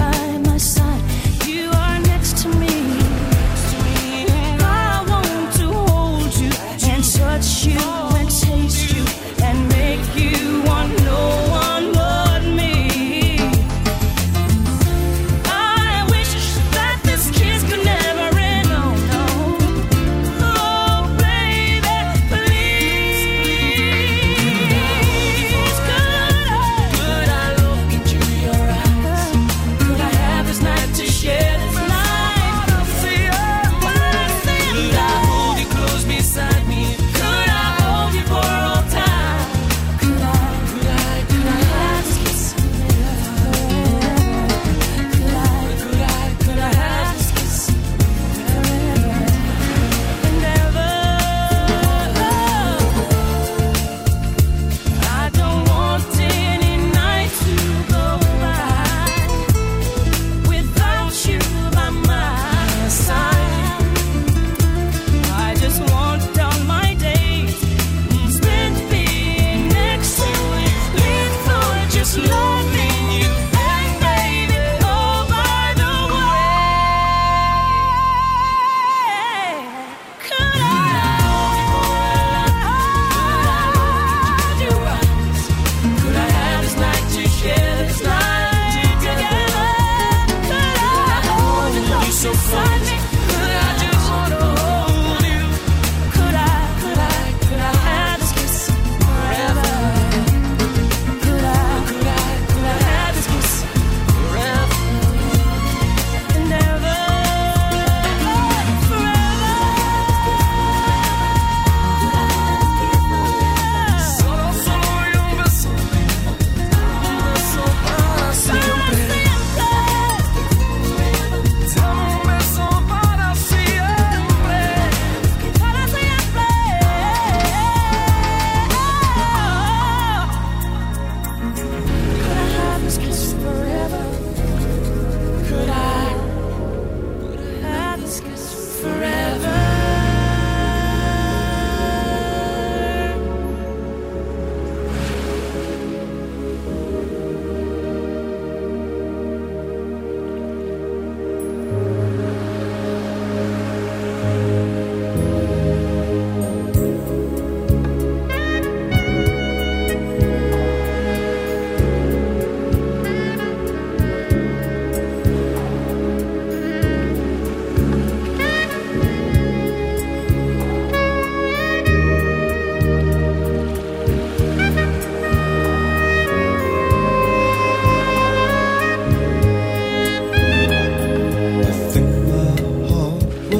To me, I want to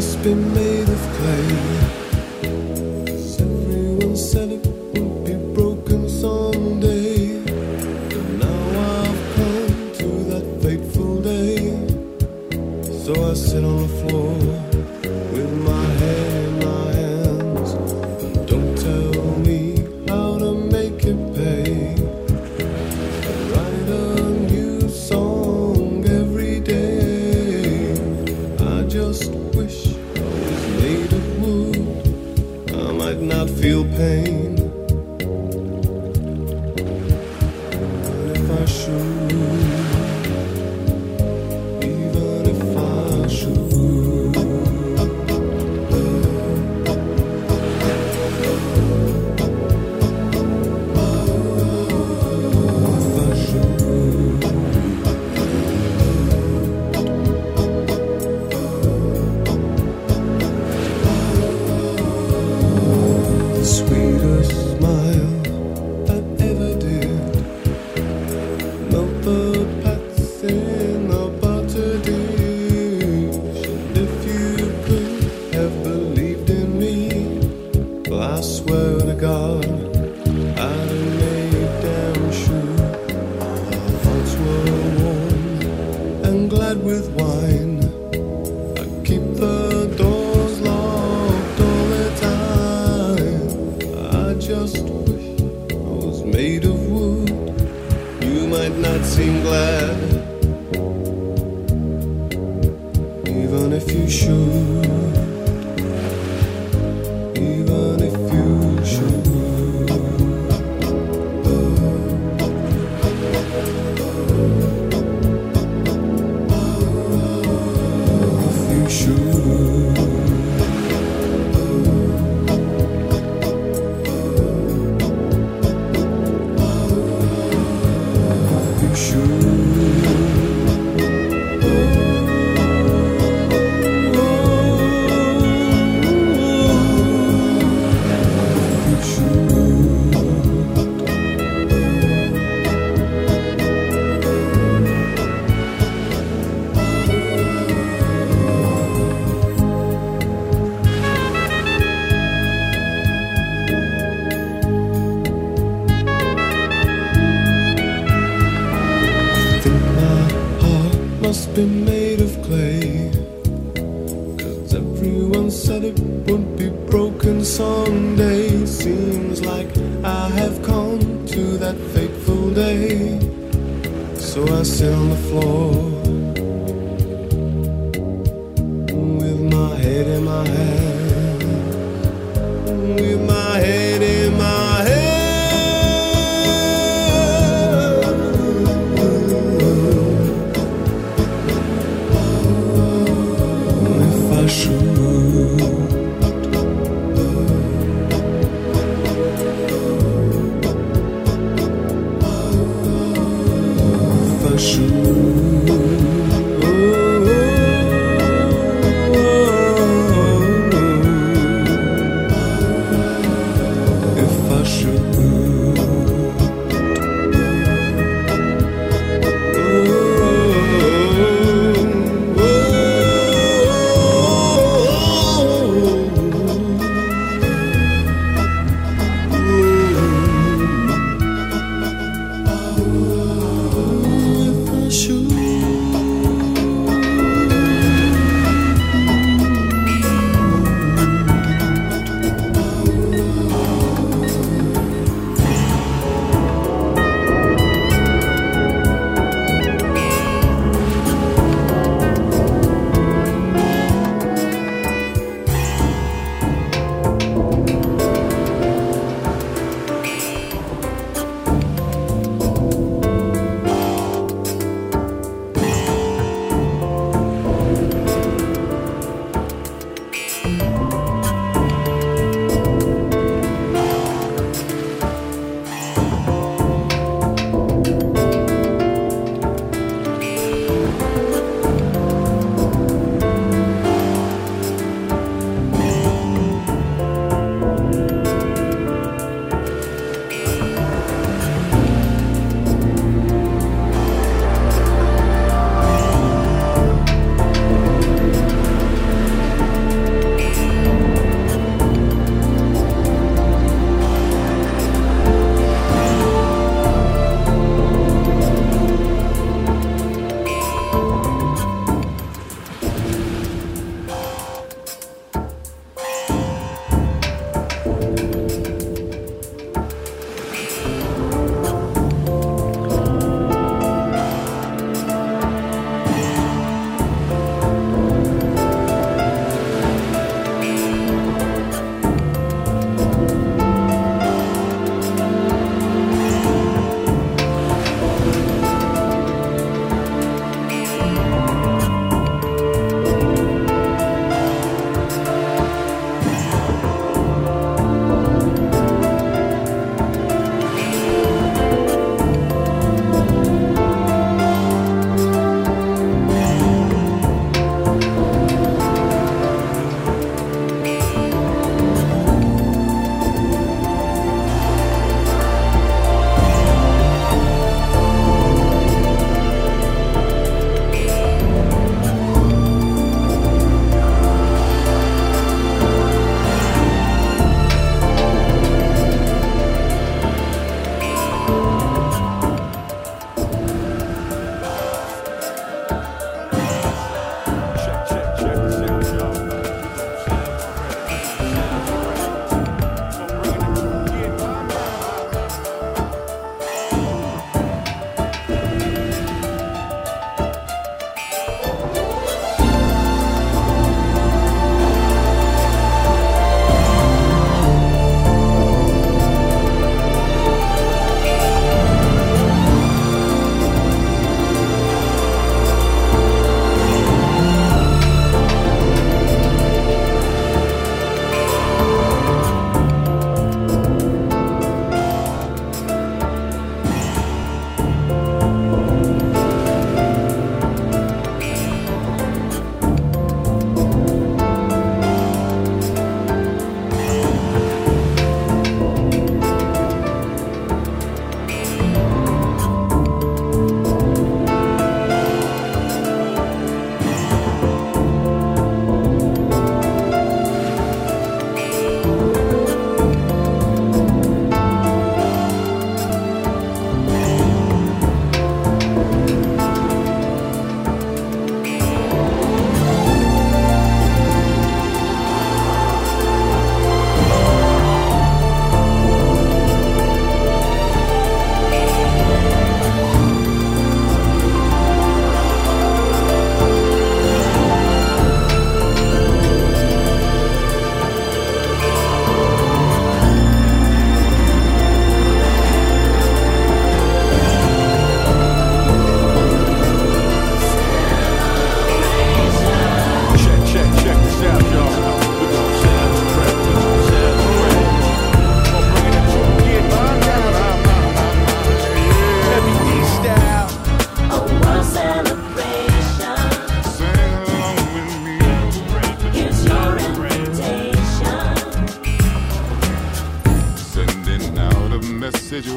must be made of clay. 'Cause everyone said it would be broken someday. But now I've come to that fateful day. So I sit on the floor with my head in my hands. And don't tell me how to make it pay. I write a new song every day. I just wish I was made of wood. I might not feel pain, but if I should, even if I should, if I should. The sweetest smile that ever did melt the pats in a butter dish. And if you could have believed in me, well, I swear to God, I'd have made damn sure our hearts were warm and glad with wine. I keep the doors locked all the time. I just wish I was made of wood. You might not seem glad, even if you should, even if you should. If you should. You should. You think my heart must be made of clay. 'Cause everyone said it would be broken someday. Seems like I have come to that fateful day. So I sit on the floor with my head in my hand, with my head in my hand. If I should, if I should,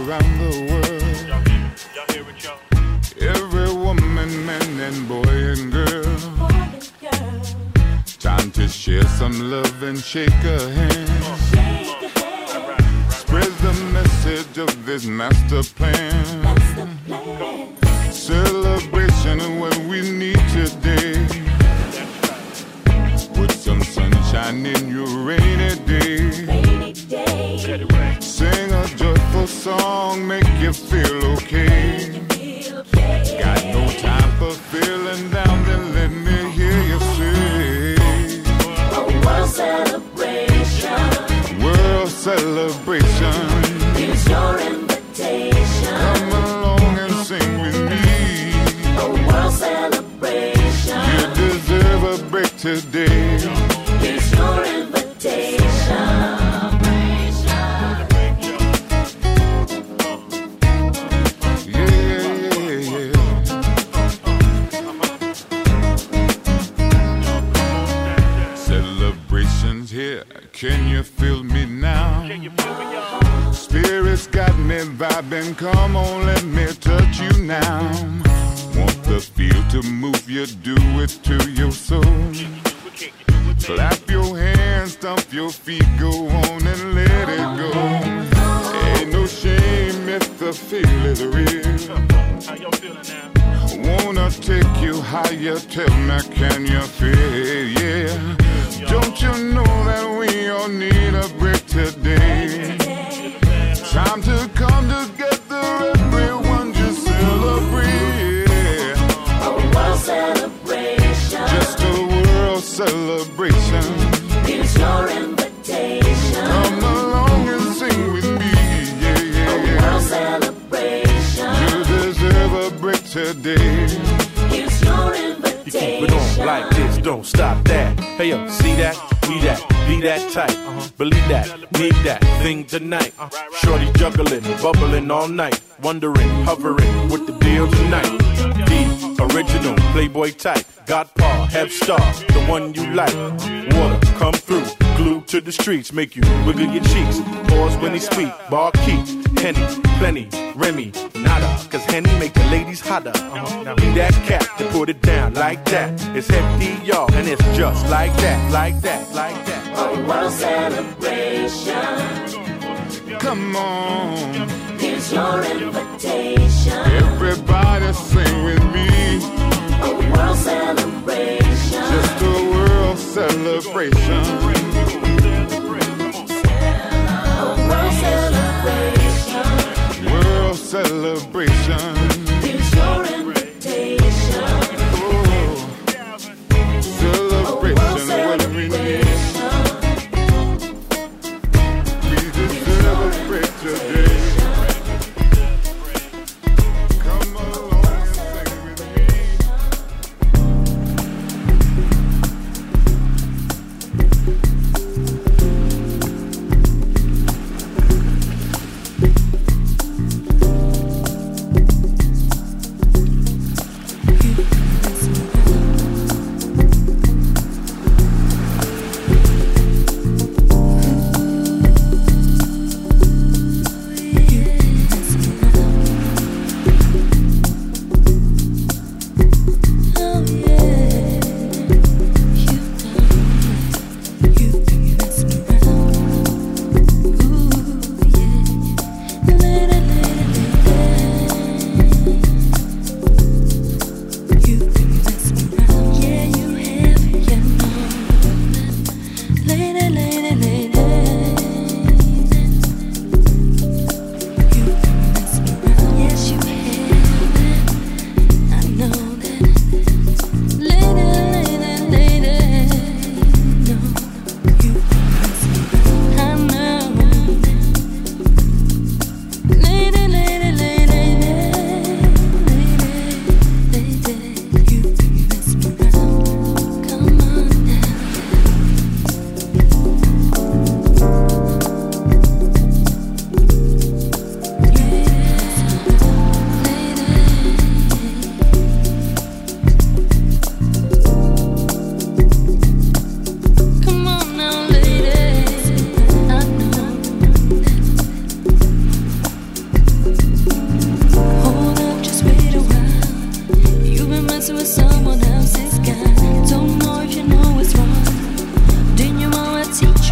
around the world. Every woman, man, and boy and girl. Time to share some love and shake a hand. Spread the message of this master plan. Celebration of what we need today. Put some sunshine in your rainy day. Sing a joyful song, make you feel okay. Got no time for feeling down, then let me hear you say. A world celebration. World celebration. Here's your invitation. Come along and sing with me. A world celebration. You deserve a break today. Here's your invitation. Can you feel me now? Spirit's got me vibing, come on, let me touch you now. Want the feel to move you, do it to your soul. Clap your hands, stomp your feet, go on and let it go. Ain't no shame if the feel is real. Wanna take you higher, tell me, can you feel, yeah. Don't you know that we all need a break today? Time to come together, everyone just celebrate. A world celebration. Just a world celebration. Here's your invitation. Come along and sing with me, yeah, yeah. A world celebration. You deserve a break today. Here's your invitation. You keep it on like this, don't stop that. Hey yo, see that, be that, be that tight. Believe that, need that thing tonight. Shorty juggling, bubbling all night. Wondering, hovering with the deal tonight. The original Playboy type. Godpa, Head Star, the one you like. Water, come through, glued to the streets. Make you wiggle your cheeks. Pause when he speak, bar keep. Henny, plenty, Remy, nada. Cause Henny make the ladies hotter. Now be that cat to put it down like that. It's hefty, y'all, and it's just like that, like that, like that. A world celebration. Come on. Here's your invitation. Everybody sing with me. A world celebration. Just a world celebration. A world celebration. World celebration. Here's your invitation. Oh, celebration, what we need. We deserve a break today. Come along and sing with me.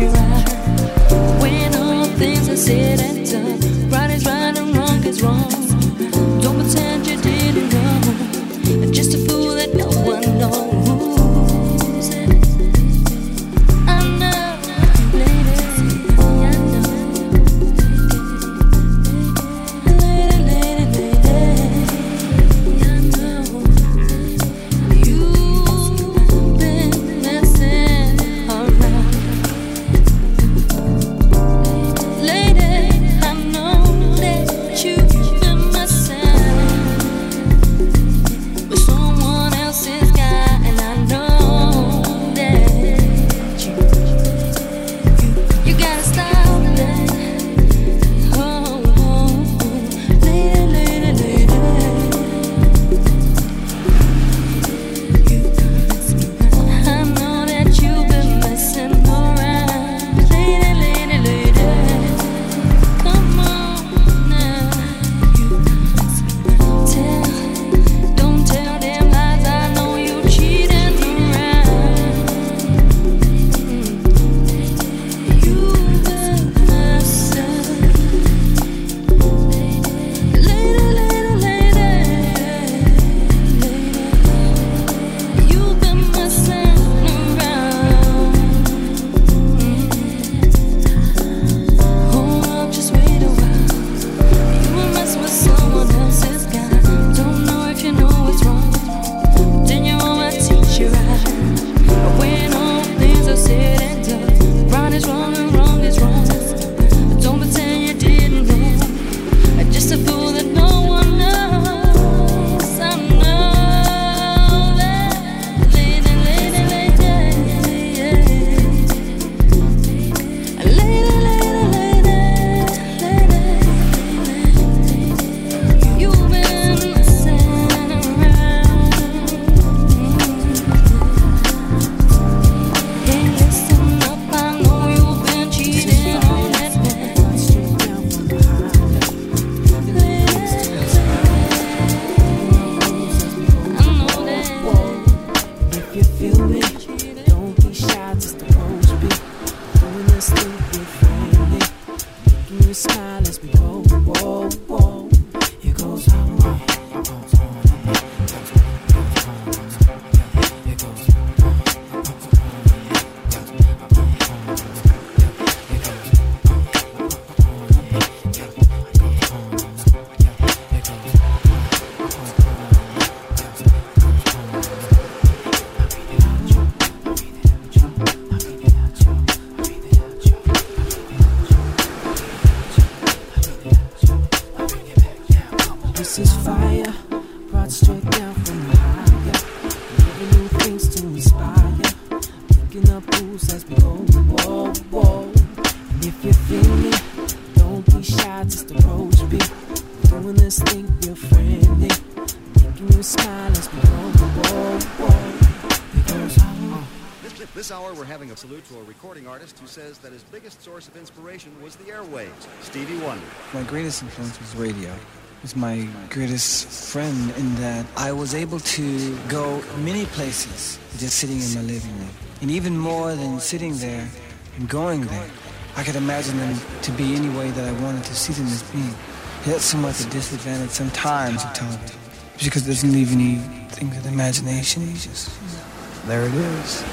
you right. When all things are said and done, right is right and wrong is wrong. Don't pretend you didn't know. Just a fool that no one knows. I know, lady, I know. Lady, lady, lady, I know. You've been messing around. Lady, I know that you've been messing with someone else's guy, and I know that you gotta stop that. Oh, lady, lady, lady, I know that you've been messing around. Lady, lady, lady, come on now. Don't tell them lies. I know you cheating around. You've been messing. Lady, lady, lady, you've been messing around. Hold up, just wait a while. You were messing with someone else's guy. Don't know if you know it's wrong. Then you might teach you right. But when all things are said and done, right is wrong and wrong is wrong. Don't pretend you didn't know. Just a fool that no one knows. I know that. Lady, lady, lady, yeah. Lady, lady, lady, lady, you've been messing around. Hey, listen up, I know you've been cheating on that man. I know that. If you feel me, don't be shy, just approach me. Doing this thing with friendly, making you smile as we go, whoa, whoa. It goes on, it goes on, it goes on. This is fire, brought straight down from the higher. Living new things to inspire. Picking up rules as we go, whoa, whoa. And if you feel me, don't be shy, just approach me. Doing this thing real friendly, making you smile as we go, whoa, whoa. It goes on. This hour, we're having a salute to a recording artist who says that his biggest source of inspiration was the airwaves, Stevie Wonder. My greatest influence was radio. It was my greatest friend in that I was able to go many places just sitting in my living room. And even more than sitting there and going there, I could imagine them to be any way that I wanted to see them as being. That's somewhat the disadvantage sometimes of television. Because it doesn't leave anything to the imagination. It's just, there it is.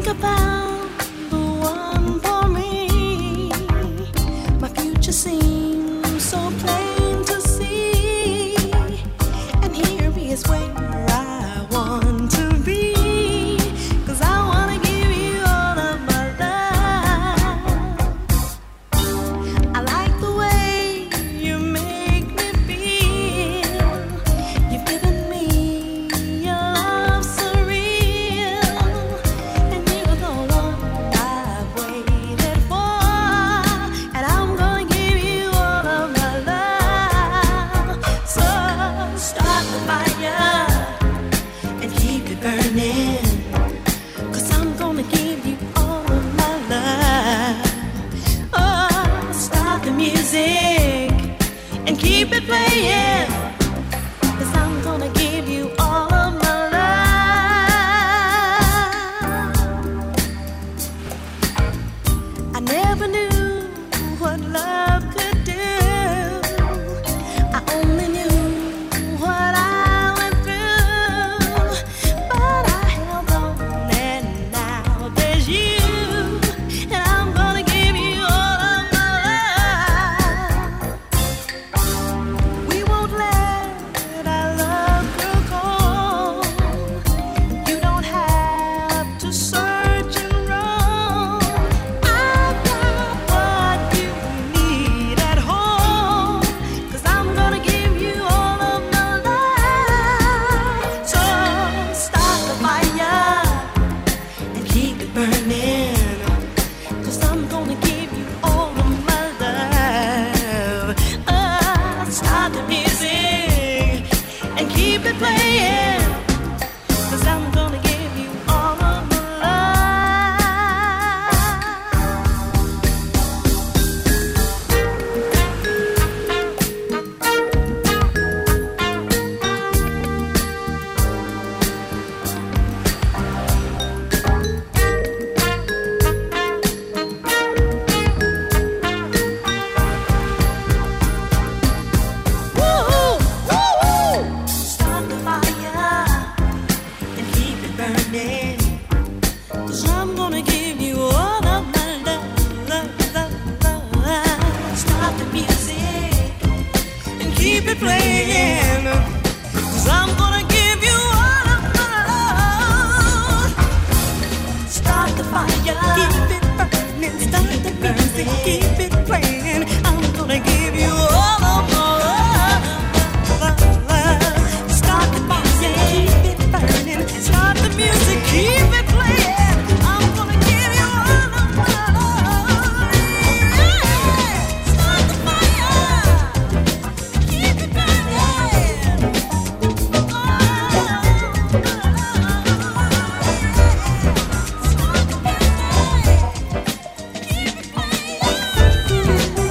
think I found the one for me. My future seems so plain to see, and here is where I want to be. 'Cause I wanna give you all of my love. I like the way you make me feel. You've given me your love so real, and you're the one I've waited for. And I'm gonna give you all of my love. So start the fire and keep it burning. 'Cause I'm gonna give you all of my love. Oh, start the music and keep it playing. 'Cause I'm gonna give you all of my love. I never knew what love could do. I only knew what I went through. But I held on, and now there's you. And I'm gonna give you all of my love. We won't let our love grow cold. You don't have to search and roam. I've got what you need at home. 'Cause I'm gonna give you all of my love. So start the fire and keep it burning. 'Cause I'm gonna give you all of my love. Start the music and keep it playing. 'Cause I'm gonna give you all of my Start the fire and keep it burning. 'Cause I'm gonna give you all of my love. Start the music and keep it playing. 'Cause I'm gonna give you all of my love. Start the fire, keep it burning. Start the music, keep it playing. I'm gonna give you all of my love. Start the music, keep it burning. Start the music, keep it playing. I'm gonna give you all of my love. Start the fire, keep it burning. Start the music, keep it playing.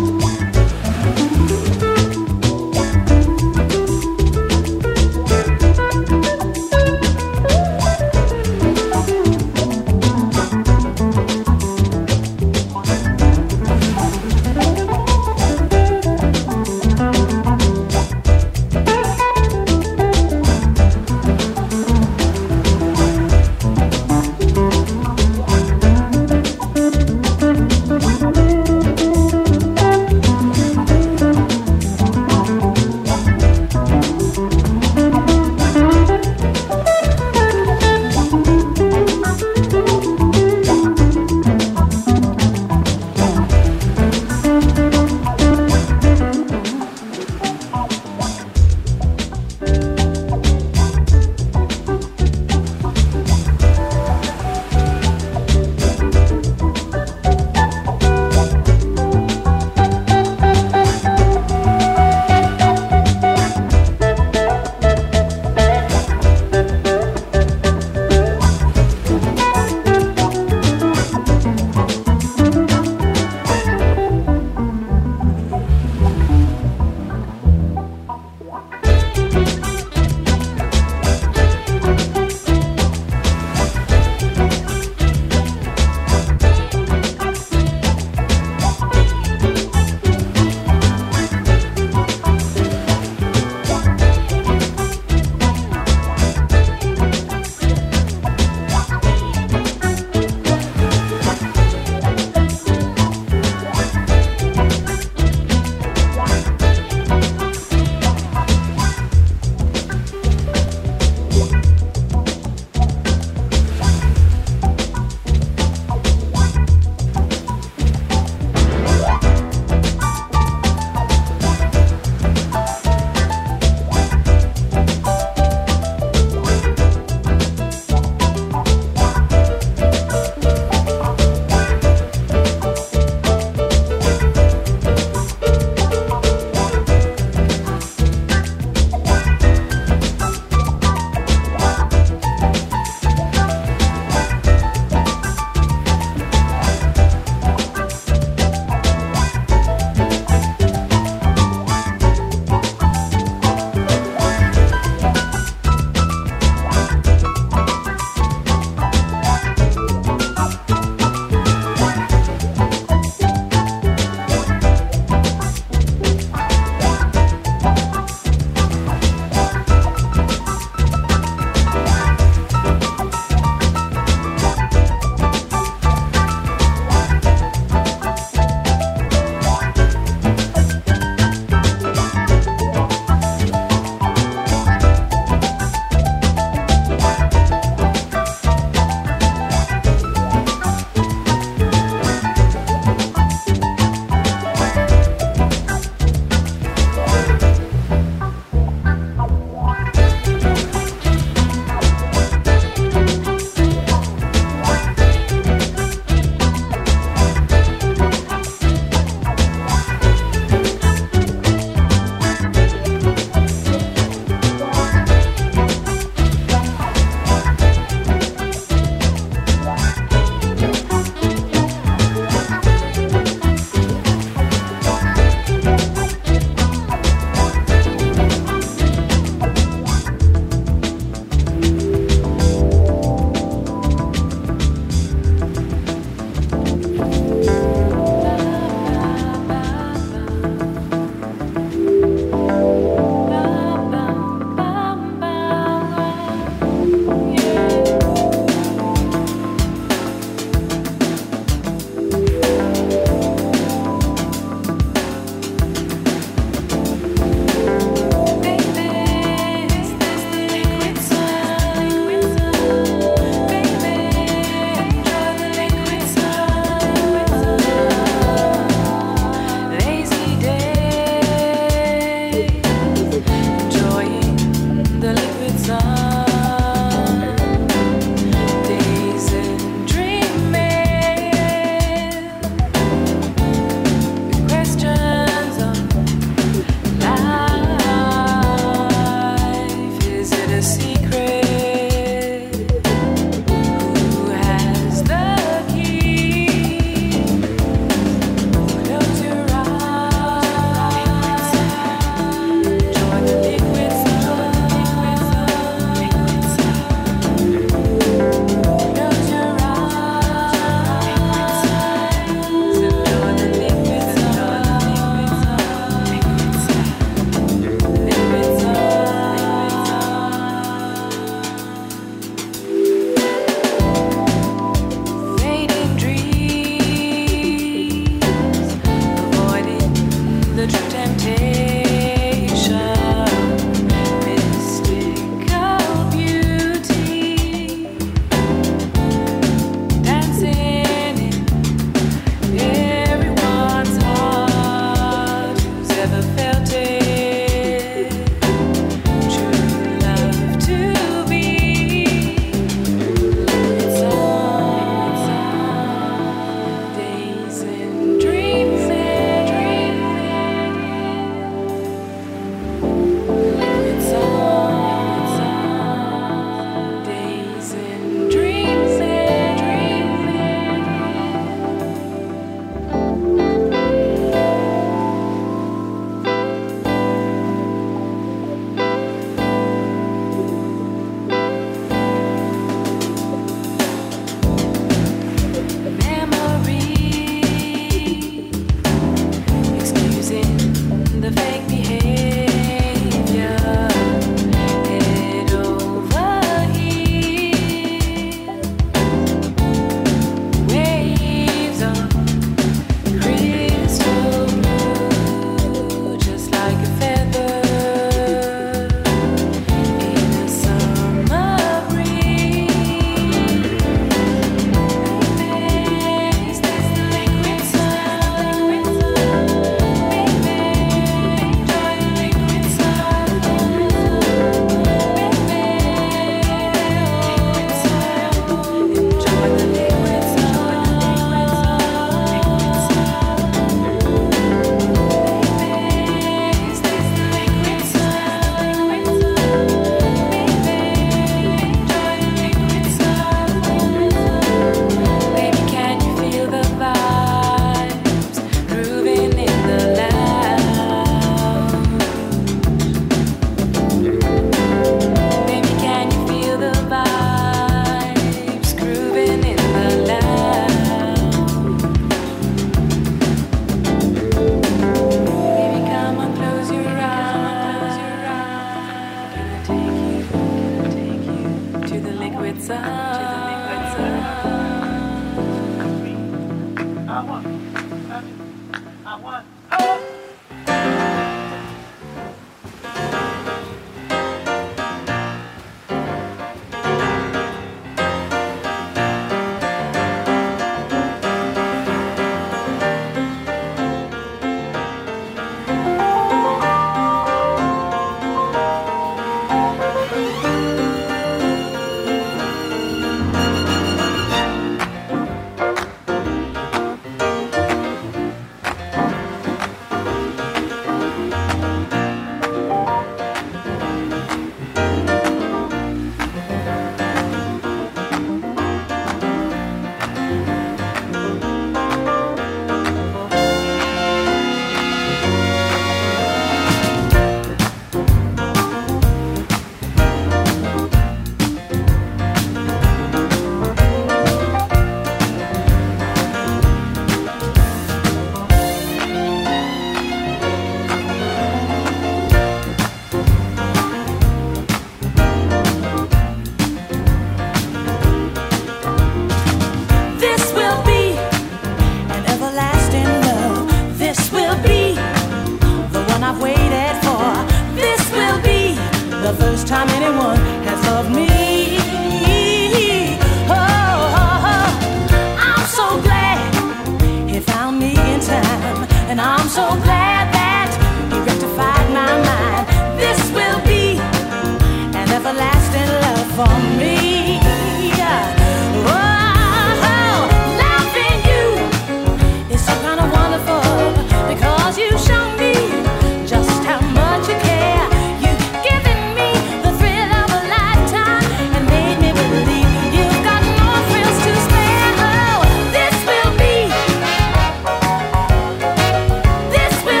This will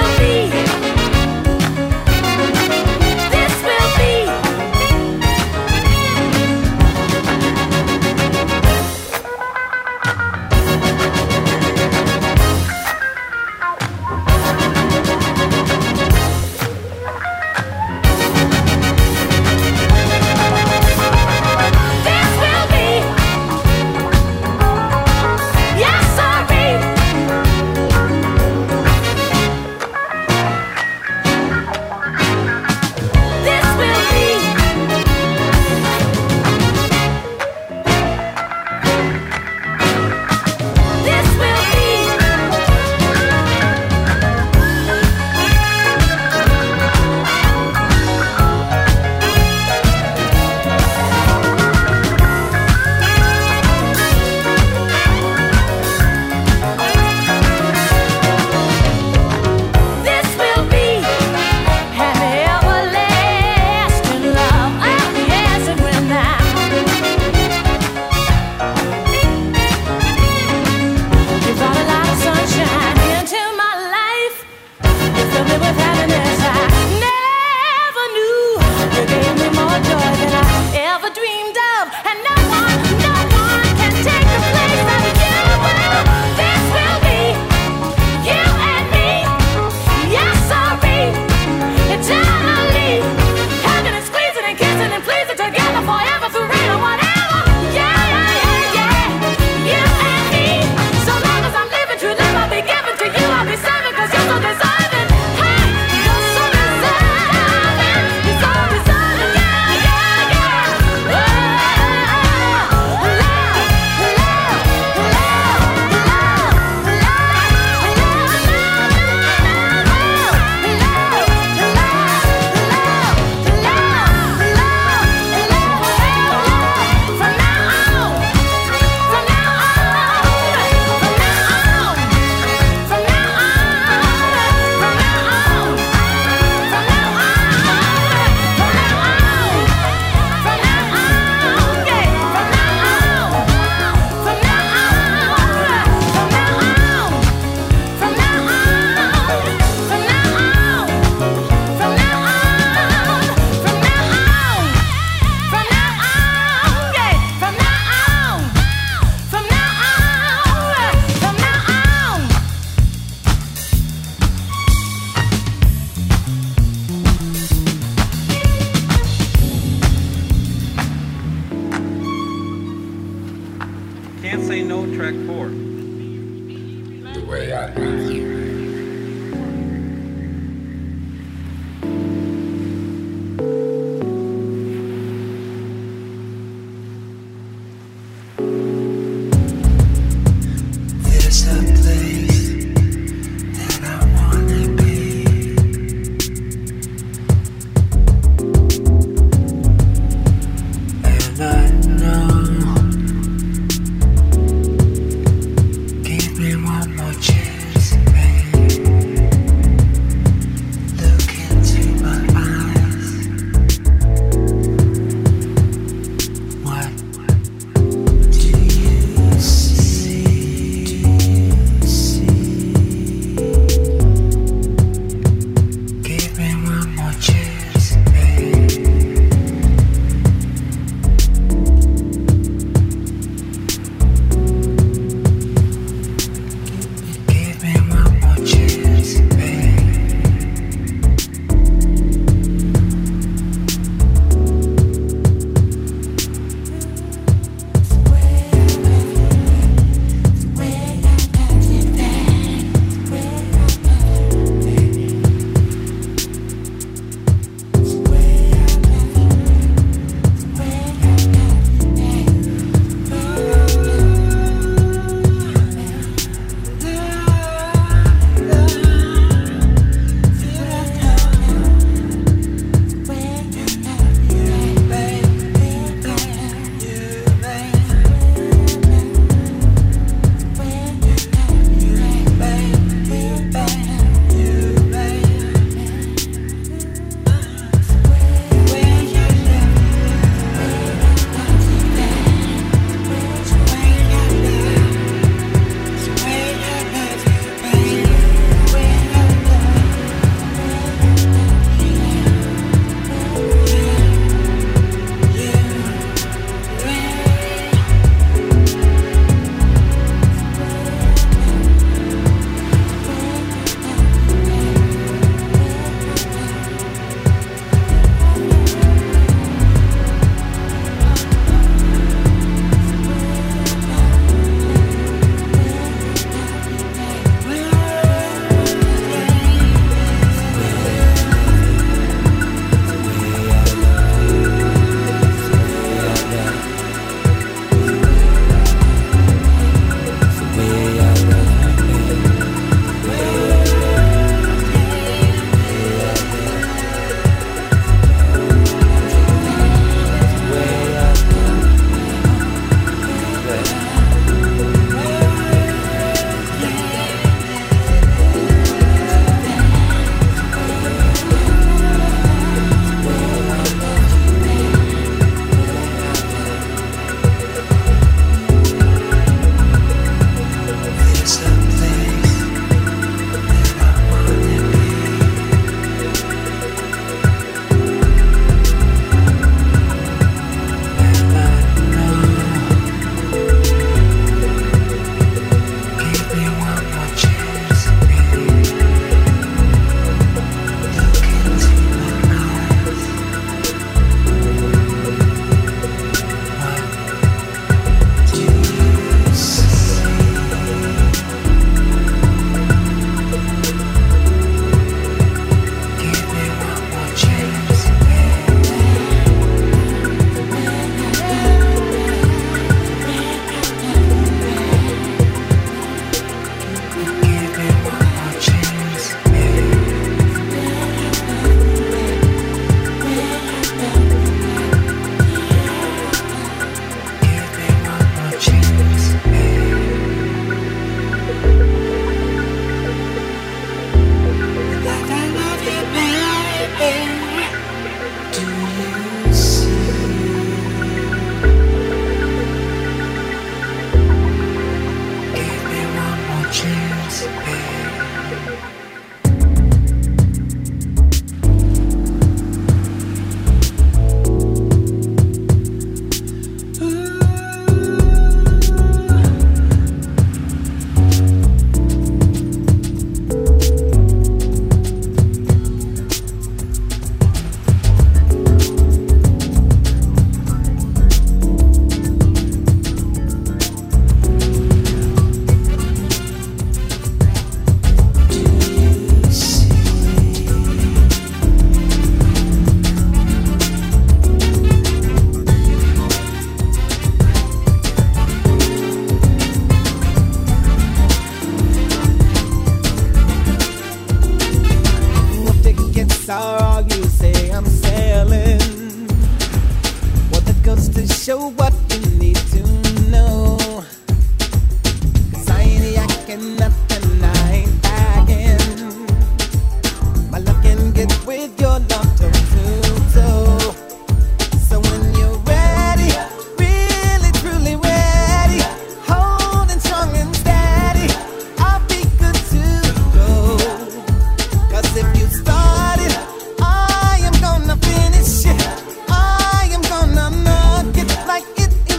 show what you need to know. 'Cause I ain't yakking nothing, I ain't bagging. My love can get with your love toe to toe. So when you're ready, really truly ready, holding strong and steady, I'll be good to go. 'Cause if you start it, I am gonna finish it. I am gonna knock it like it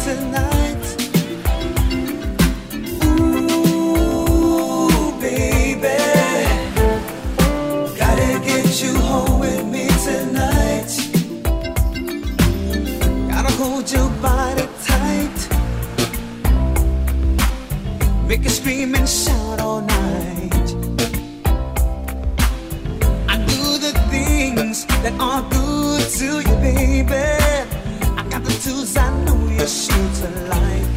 tonight. Ooh, baby, gotta get you home with me tonight. Gotta hold your body tight, make you scream and shout all night. I do the things that are good to you, baby. I got the tools I know you're sure to like.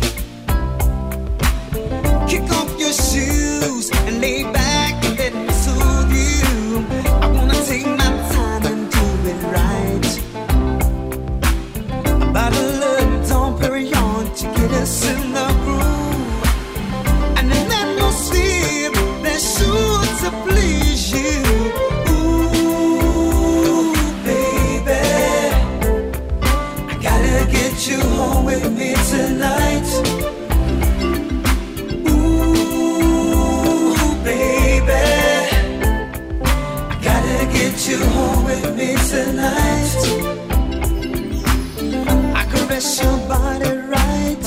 Kick off your shoes and lay back and let me soothe you. I wanna take my time and do it right. A bottle of Dom Perignon to get us in the groove, and an atmosphere that's sure to please you. Ooh, baby, I gotta get you home with me tonight. Ooh, baby, I gotta get you home with me tonight. I caress your body right,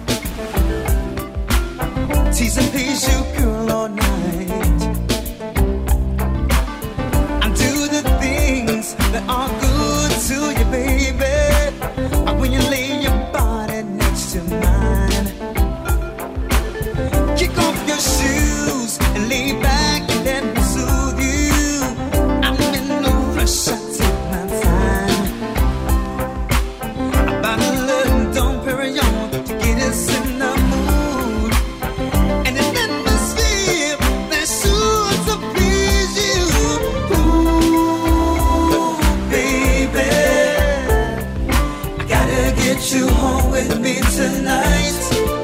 tease and please you, girl, all night. I do the things that are good to you, baby. When you lay your body next to mine, kick off your shoes and lay back and let me soothe you. I'm in no rush, I take my time. About a little Dom Perignon to get us in the mood, and an atmosphere that's sure to please you. Ooh, baby, I gotta get you home with me tonight.